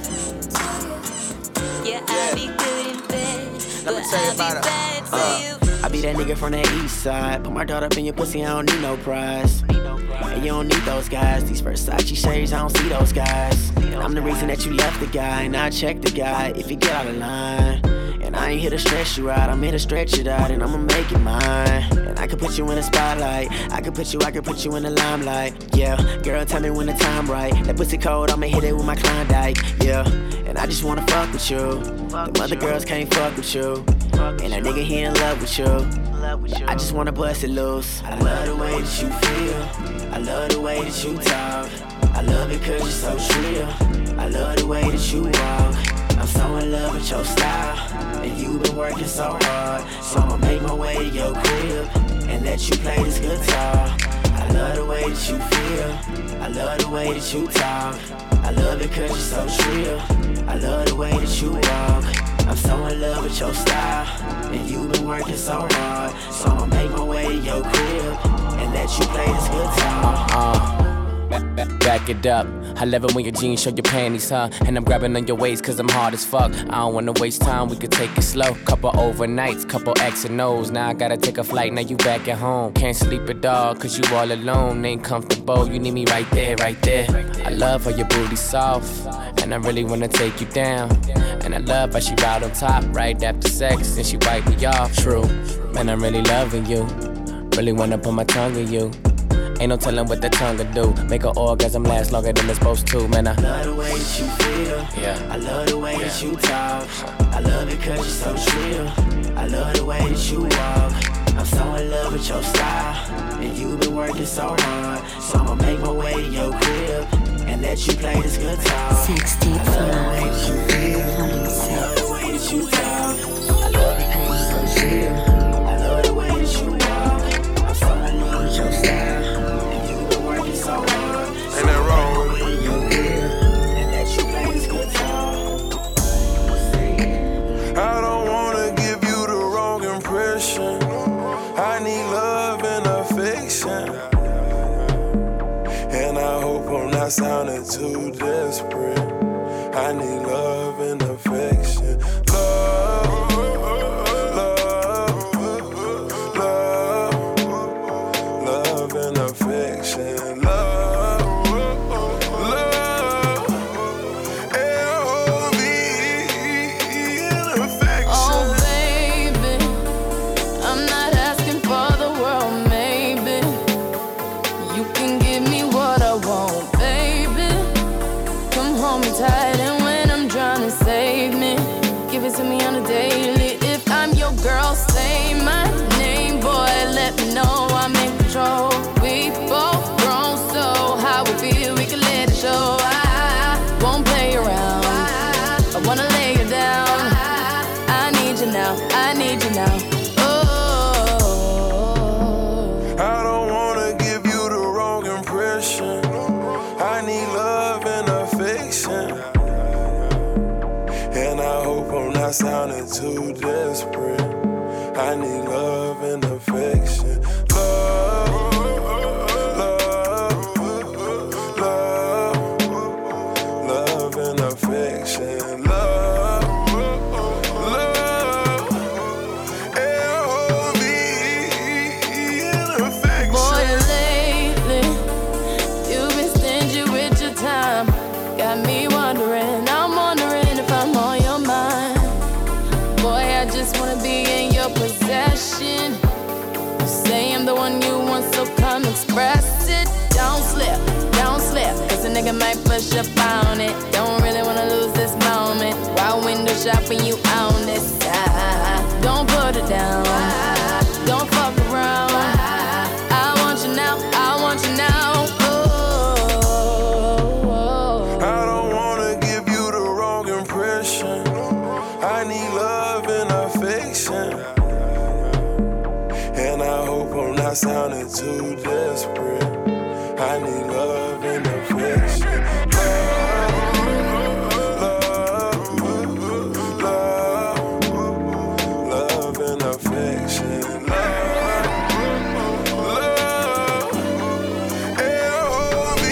Yeah, I'll be good in bed, but I'll be bad to you. I be that nigga from the east side. Put my daughter up in your pussy, I don't need no prize. And you don't need those guys. These Versace shades, I don't see those guys. And I'm the reason that you left the guy, and I check the guy if you get out of line. And I ain't here to stress you out, I'm here to stretch it out, and I'ma make it mine. And I could put you in the spotlight, I could put you in the limelight. Yeah, girl, tell me when the time right. That pussy cold, I'ma hit it with my Klondike. Yeah, and I just wanna fuck with you. Them other girls can't fuck with you. And that nigga, he in love with you. I just wanna bust it loose. I love the way that you feel. I love the way that you talk. I love it 'cause you're so real. I love the way that you walk. I'm so in love with your style, and you've been working so hard. So I'ma make my way to your crib and let you play this guitar. I love the way that you feel. I love the way that you talk. I love it 'cause you're so real. I love the way that you walk. I'm so in love with your style, and you've been working so hard. So I'ma make my way to your crib and let you play this guitar. Back it up. I love it when your jeans show your panties, huh? And I'm grabbing on your waist 'cause I'm hard as fuck. I don't wanna waste time, we could take it slow. Couple overnights, couple X and O's. Now I gotta take a flight, now you back at home. Can't sleep at all 'cause you all alone. Ain't comfortable, you need me right there, right there. I love how your booty's soft, and I really wanna take you down. And I love how she ride on top right after sex, and she wipe me off. True, man, I'm really loving you. Really wanna put my tongue in you. Ain't no telling what the tongue will do. Make an orgasm last longer than it's supposed to, man. I love the way that you feel. Yeah. I love the way that you talk. I love it 'cause you're so real. I love the way that you walk. I'm so in love with your style, and you been working so hard. So I'ma make my way to your crib and let you play this guitar. 16 I love the way that you feel. I love the way that you talk. I love the way you so chill. I love the way that you walk. I'm so in love with your style, and you been working so hard. Ain't that wrong with it? Your crib and let you play this guitar. I don't wanna give you the wrong impression. I need love and affection, and I hope I'm not sounding too desperate. I need love and affection. Love, love, love, love and affection. Love, love, L-O-V and affection. Oh, baby, I'm not asking for the world, maybe. You can give me what I want, baby. Come hold me tight, and when I'm drowning, save me. Give it to me on a daily. If I'm your girl, say my name, boy. Let me know I'm in control. We both grown, so how we feel, we can let it show. I won't play around. I wanna lay you down. I need you now. I need you now. I don't wanna give you the wrong impression. I need love and affection, and I hope I'm not sounding too desperate. I need love and affection. Love, love, love, love and affection. Love, love, L-O-V and affection. Boy, lately, you've been stingy with your time. Got me wondering, I'm wondering if I'm on your mind. Boy, I just wanna be in your possession. You say I'm the one you want, so come express it. Don't slip, cause a nigga might push up on it. Don't really wanna lose this moment. While window shopping, you on this side. Don't put it down, don't fuck around. I want you now, I want you now. I don't wanna give you the wrong impression. I need love and affection, and I hope I'm not sounding too desperate. I need love and affection. Love, love, love and affection. Love, love, L-O-V.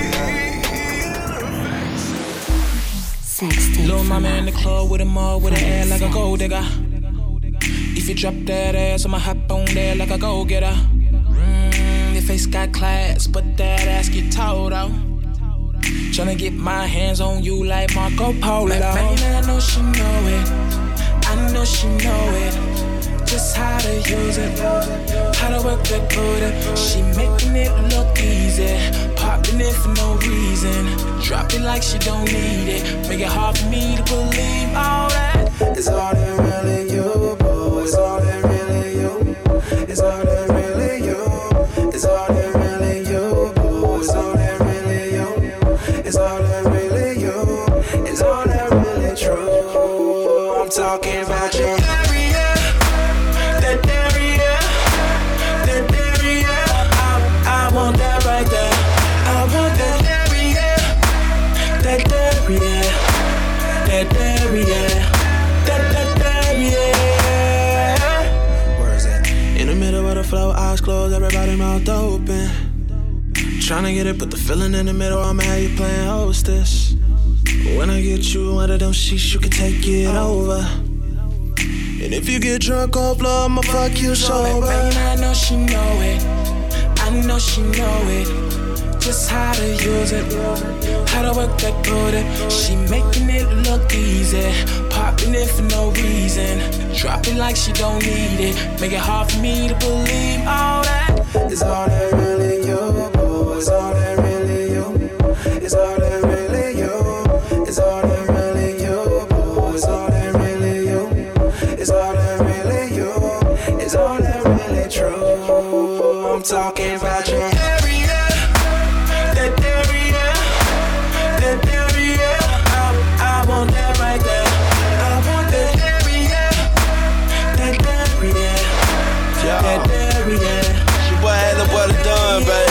Little mama in the club with him all with an ass like a gold digger. If you drop that ass, I'ma hop on there like a go-getter. Your face got class, but that ass get tall though. Tryna get my hands on you like Marco Polo. Like, man, I know she know it. I know she know it. Just how to use it, how to work that booty. She making it look easy, popping it for no reason. Drop it like she don't need it. Make it hard for me to believe all that. It's all that really you, boo. It's all that really you. It's all that really you. It's all that really you, boo. It's all that really you. It's all that really you. It's all that really true. I'm talking about your area, that area, that area. I want that right there. I want that area, that area, that area. In the middle of the flow, eyes closed, everybody mouth open. Tryna get it, put the feeling in the middle, I'ma have you playing hostess. When I get you under them sheets, you can take it over. And if you get drunk off love, I'ma fuck you sober. Baby, I know she know it. I know she know it. Just how to use it, how to work that booty. She making it look easy, popping it for no reason. Drop it like she don't need it. Make it hard for me to believe all that. It's all that really you, boo. It's all that really you. It's all that really you. It's all that really you, boo. It's all that really you. It's all that really you. It's all that really I'm talking about your area. That area. That area. I want that right there. I want that area. That area. That area. Your boy had the boy done, baby.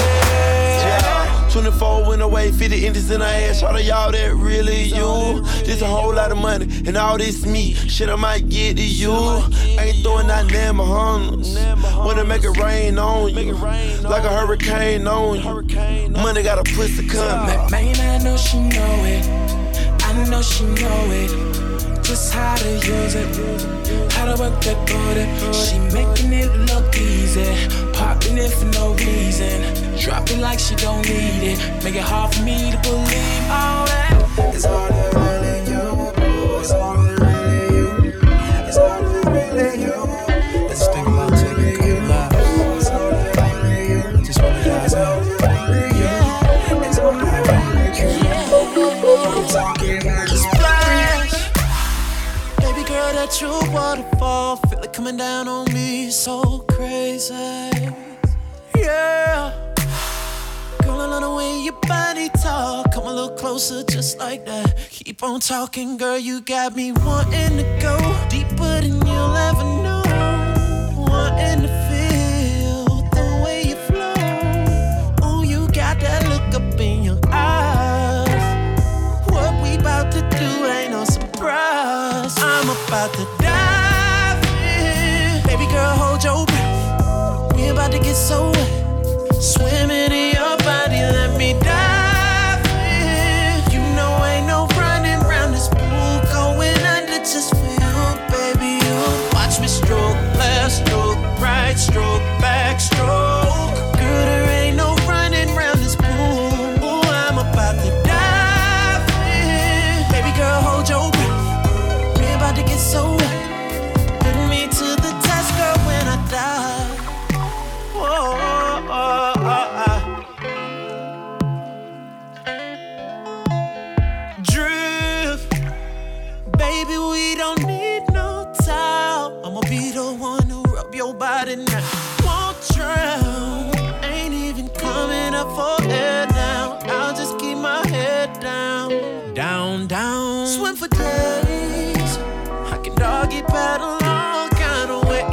24 went away, 50 inches in her ass. Shout out y'all, that really you. This a whole lot of money, and all this me. Shit, I might get to you. Ain't throwing out damn Bahamas. Wanna make it rain on you, like a hurricane on you. Money got a pussy coming. Man, I know she know it. I know she know it. Just how to use it, how to work that booty. She making it look easy, popping it for no reason. Drop it like she don't need it, make it hard for me to believe all that. It's all that really you, it's all that really you, it's all that really you. Let's think about taking a couple lives. It's all that really you, just wanna guys out. It's all that really you. I'm talking about the splash. Baby girl, that true waterfall, feel it coming down on me, so crazy. Yeah. Girl, I love the way your body talk. Come a little closer, just like that. Keep on talking, girl, you got me wanting to go deeper than you'll ever know. Wanting to feel the way you flow. Oh, you got that look up in your eyes. What we about to do ain't no surprise. I'm about to dive in. Baby girl, hold your breath. We about to get so wet. Swimming in your body, let me dive in. You know ain't no running round this pool, going under just for you, baby. You watch me stroke, left stroke, right stroke, back stroke. Girl, there ain't no running round this pool. Ooh, I'm about to dive in. Baby girl, hold your breath. We about to get so wet. Put me to the test, girl, when I die. Whoa. Drift, baby, we don't need no towel. I'ma be the one who rub your body now. Won't drown, ain't even coming up for air now. I'll just keep my head down, down, down. Swim for days, I can doggy paddle all kind of ways.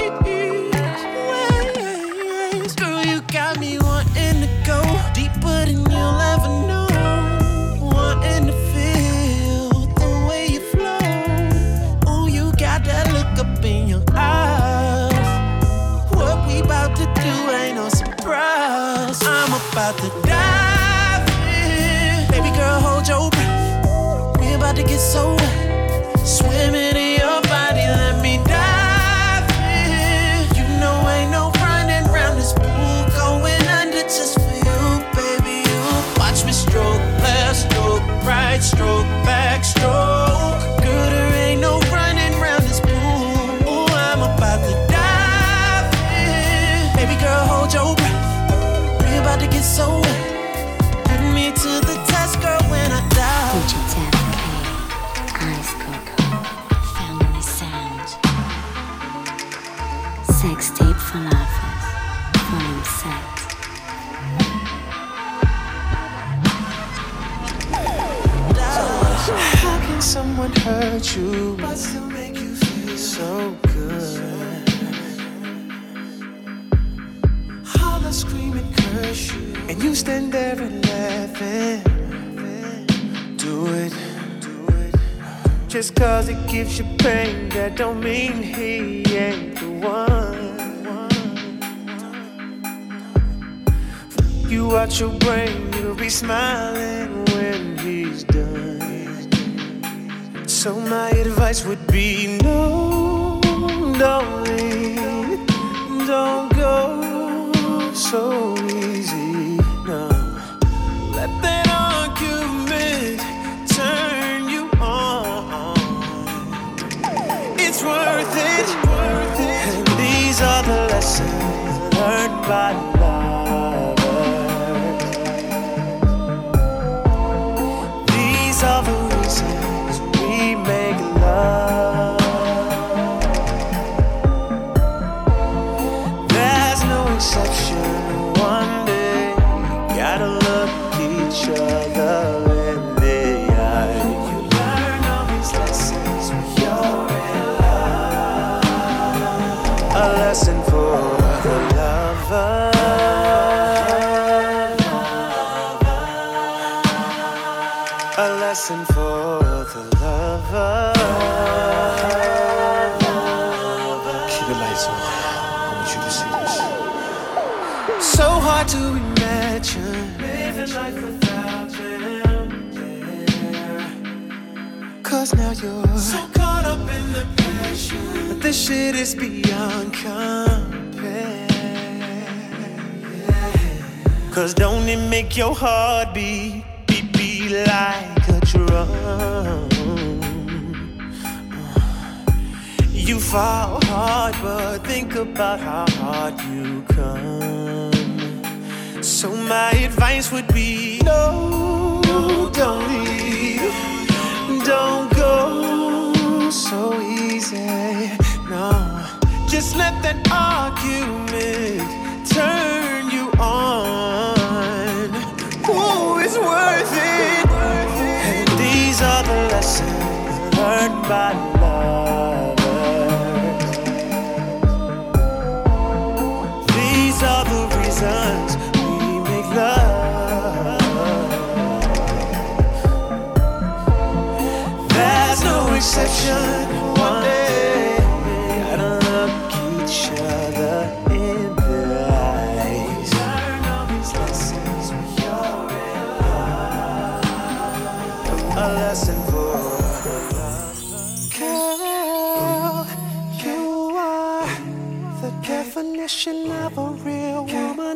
Girl, you got me wanting to go deeper than you'll ever know. Wanting to feel the way you flow. Oh, you got that look up in your eyes. What we about to do ain't no surprise. I'm about to dive in. Baby girl, hold your breath. We about to get so wet. Swimming in your body, let me dive in. You know ain't no running round this pool, going under just for you, baby. You watch me stroke, left stroke, right stroke, back stroke. Girl, there ain't no running round this pool. Ooh, I'm about to dive in. Baby girl, hold your breath. We about to get so wet. Put me to the test, girl, when I die. Digital Ice Coco, Family Sound, Sex Tape for Lovers, Volume 6. How can someone hurt you but still make you feel so good? Holler, scream, and curse you, and you stand there and laughing. Do it. Just cause it gives you pain, that don't mean he ain't the one. You out your brain, you'll be smiling when he's done. So my advice would be no, don't leave, don't go so easy, no. Let that argument turn you on. It's worth it. And these are the lessons learned by lovers. These are the reasons we make love. There's no exception lesson for the lover. Keep the lights on. I want you to see this. So hard to imagine living life without them. Yeah. Cause now you're so caught up in the passion, but this shit is beyond compare. Cause don't it make your heart beat like a drum? You fall hard, but think about how hard you come. So my advice would be, no, don't leave. Don't go so easy. No, just let that argument turn you on. Ooh, it's worth it. And these are the lessons learned by lovers. These are the reasons we make love. There's no exception. One day we gotta look each other in the eyes. Learn all these lessons when you're in love. A lesson for girl, you are the definition of a real woman.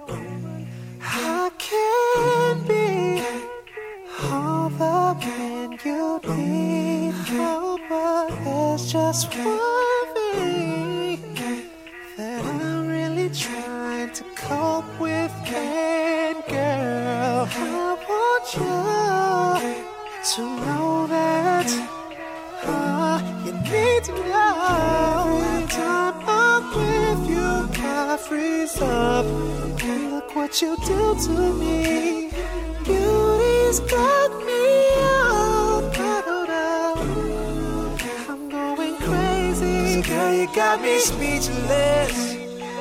I can't be all the man you need, girl, but there's just one thing that I'm really trying to cope with, and girl, I want you to know that you need to know. Anytime I'm with you, I freeze up. Look what you do to me. Beauty's got me all bottled up. I'm going crazy. Girl, you got me speechless.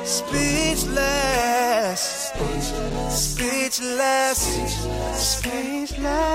Speechless. Speechless. Speechless.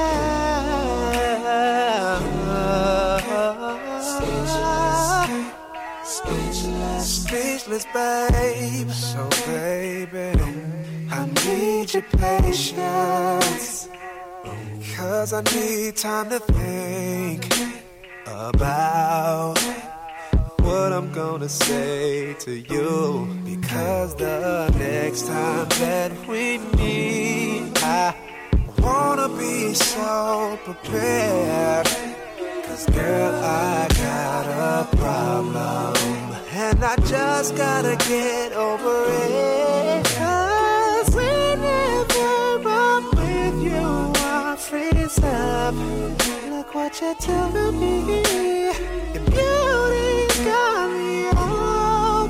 Speechless, babe. So, baby, I need your patience. Cause I need time to think about what I'm gonna say to you. Because the next time that we meet, I wanna be so prepared. Cause girl, I got a problem, and I just gotta get over it. Cause whenever I'm with you, I freeze up. Look what you do to me. Your beauty's got me all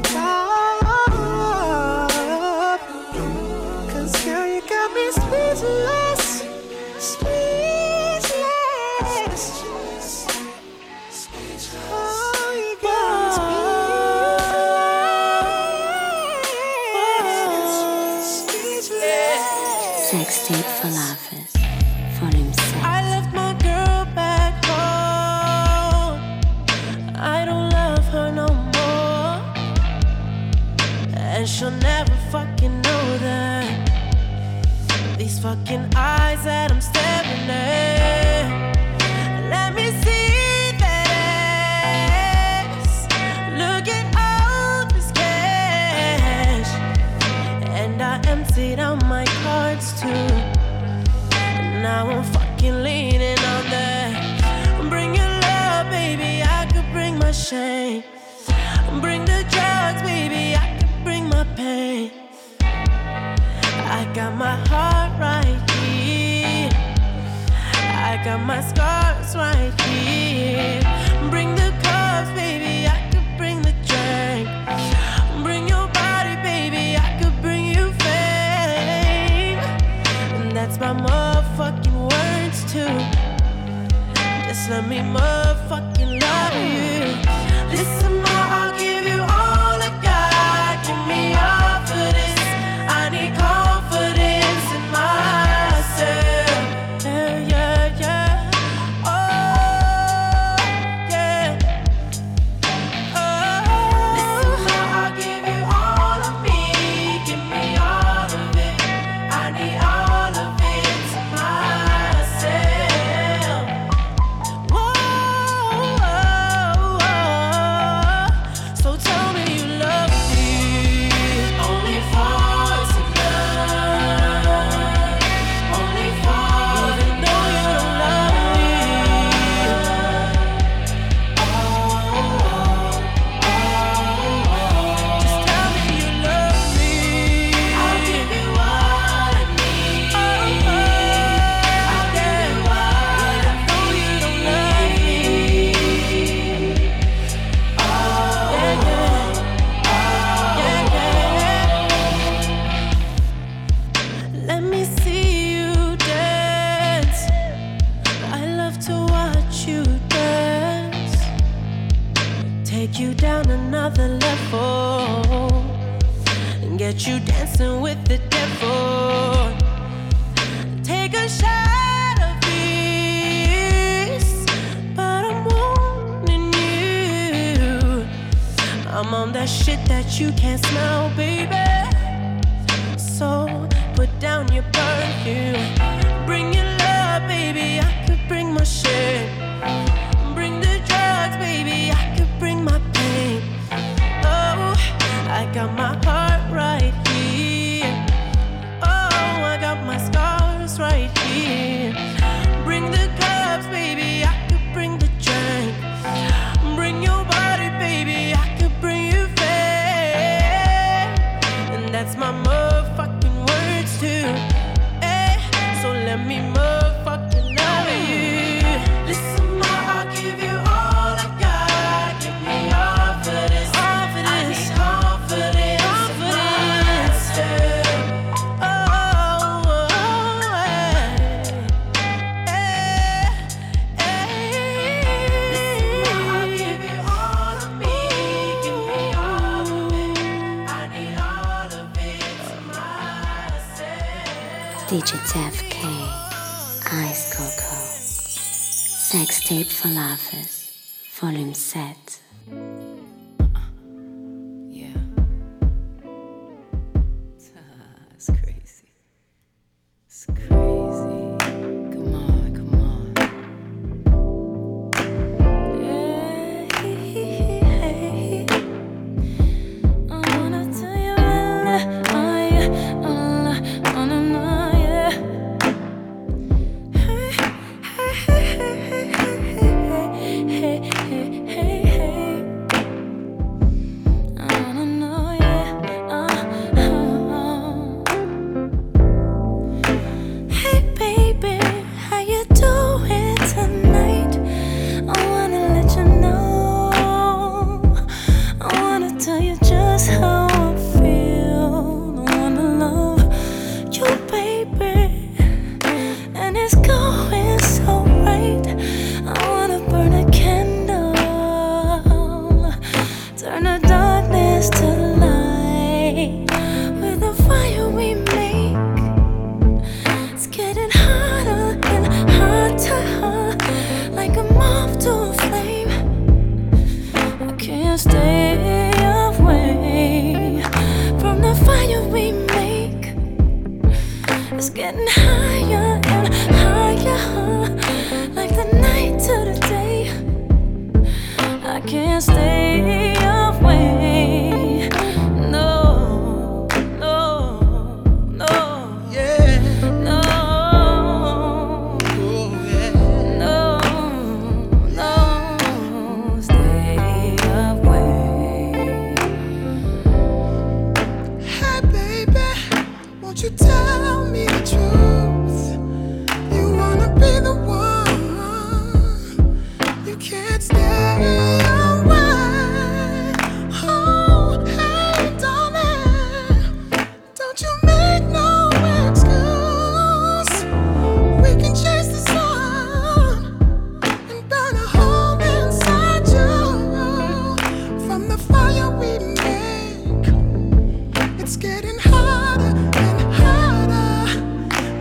up. Cause girl, you got me speechless. Speechless. Oh, you got me speechless. Sex tape for lovers, for himself. I left my girl back home. I don't love her no more, and she'll never fucking know that. These fucking eyes that I'm staring at. Let me see that ass. Look at all this cash, and I emptied out my cards too. Now I'm fucking leaning on that. Bring your love, baby, I could bring my shame. Bring the drugs, baby, I could bring my pain. I got my heart right here. I got my scars right here. Bring the cups, baby, I could bring the drink. Bring your body, baby, I could bring you fame. And that's my motherfucking words too. Just let me motherfucking love you. Listen, ma, I'll give you all I got. Give me all for this. I need confidence in myself. Yeah, yeah, yeah. down another level and get you dancing with the devil. Take a shot of this, but I'm warning you, I'm on that shit that you can't smell, baby. So put down your perfume, bring your love, baby. I could bring my shit. Bring the drugs, baby. I could bring my pain. Oh, I got my heart right here. Oh, I got my scars right here. Bring the cups, baby. I could bring the drink. Bring your body, baby. I could bring you fame. And that's my motherfucking words too. Hey, so let me motherfucking love you. Listen, ma, I'll give you all I got. Give me all for this. All for this. I need confidence. Confidence. Oh, Listen, ma, I'll give you all of me. Give me all of it. I need all of it to myself. DJ Def K, Ice Coco, Sex Tape for Lovers, Volume 7. It's crazy. It's crazy. Come on, come on. I wanna tell you, yeah.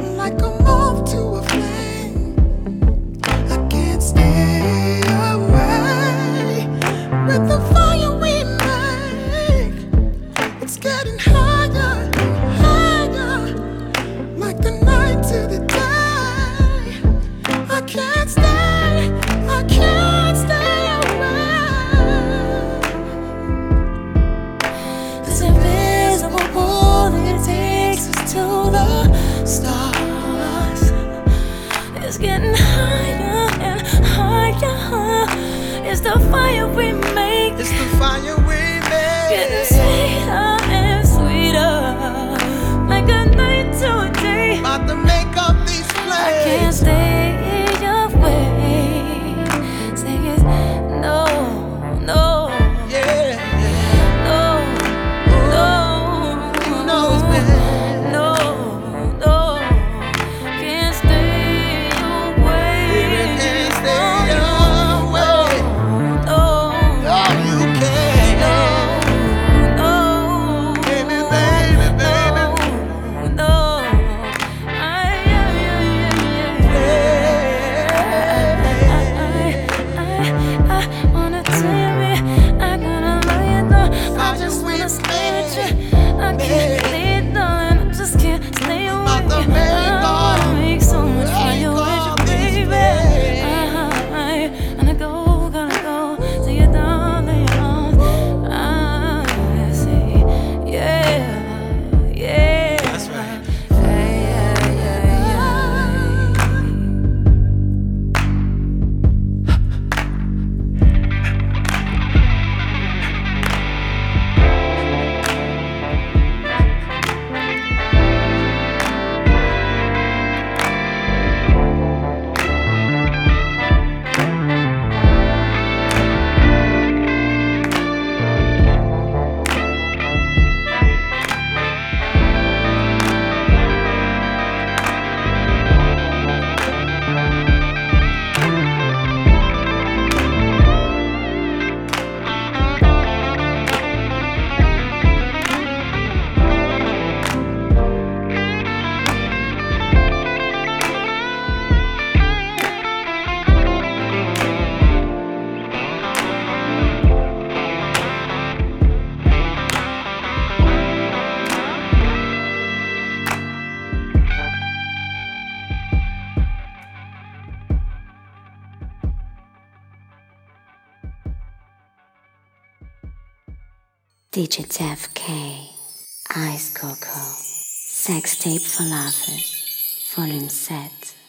Like a moth to a flame, I can't stay away. DJ Def K, Ice Coco, Sex Tape for Lovers, Volume 7.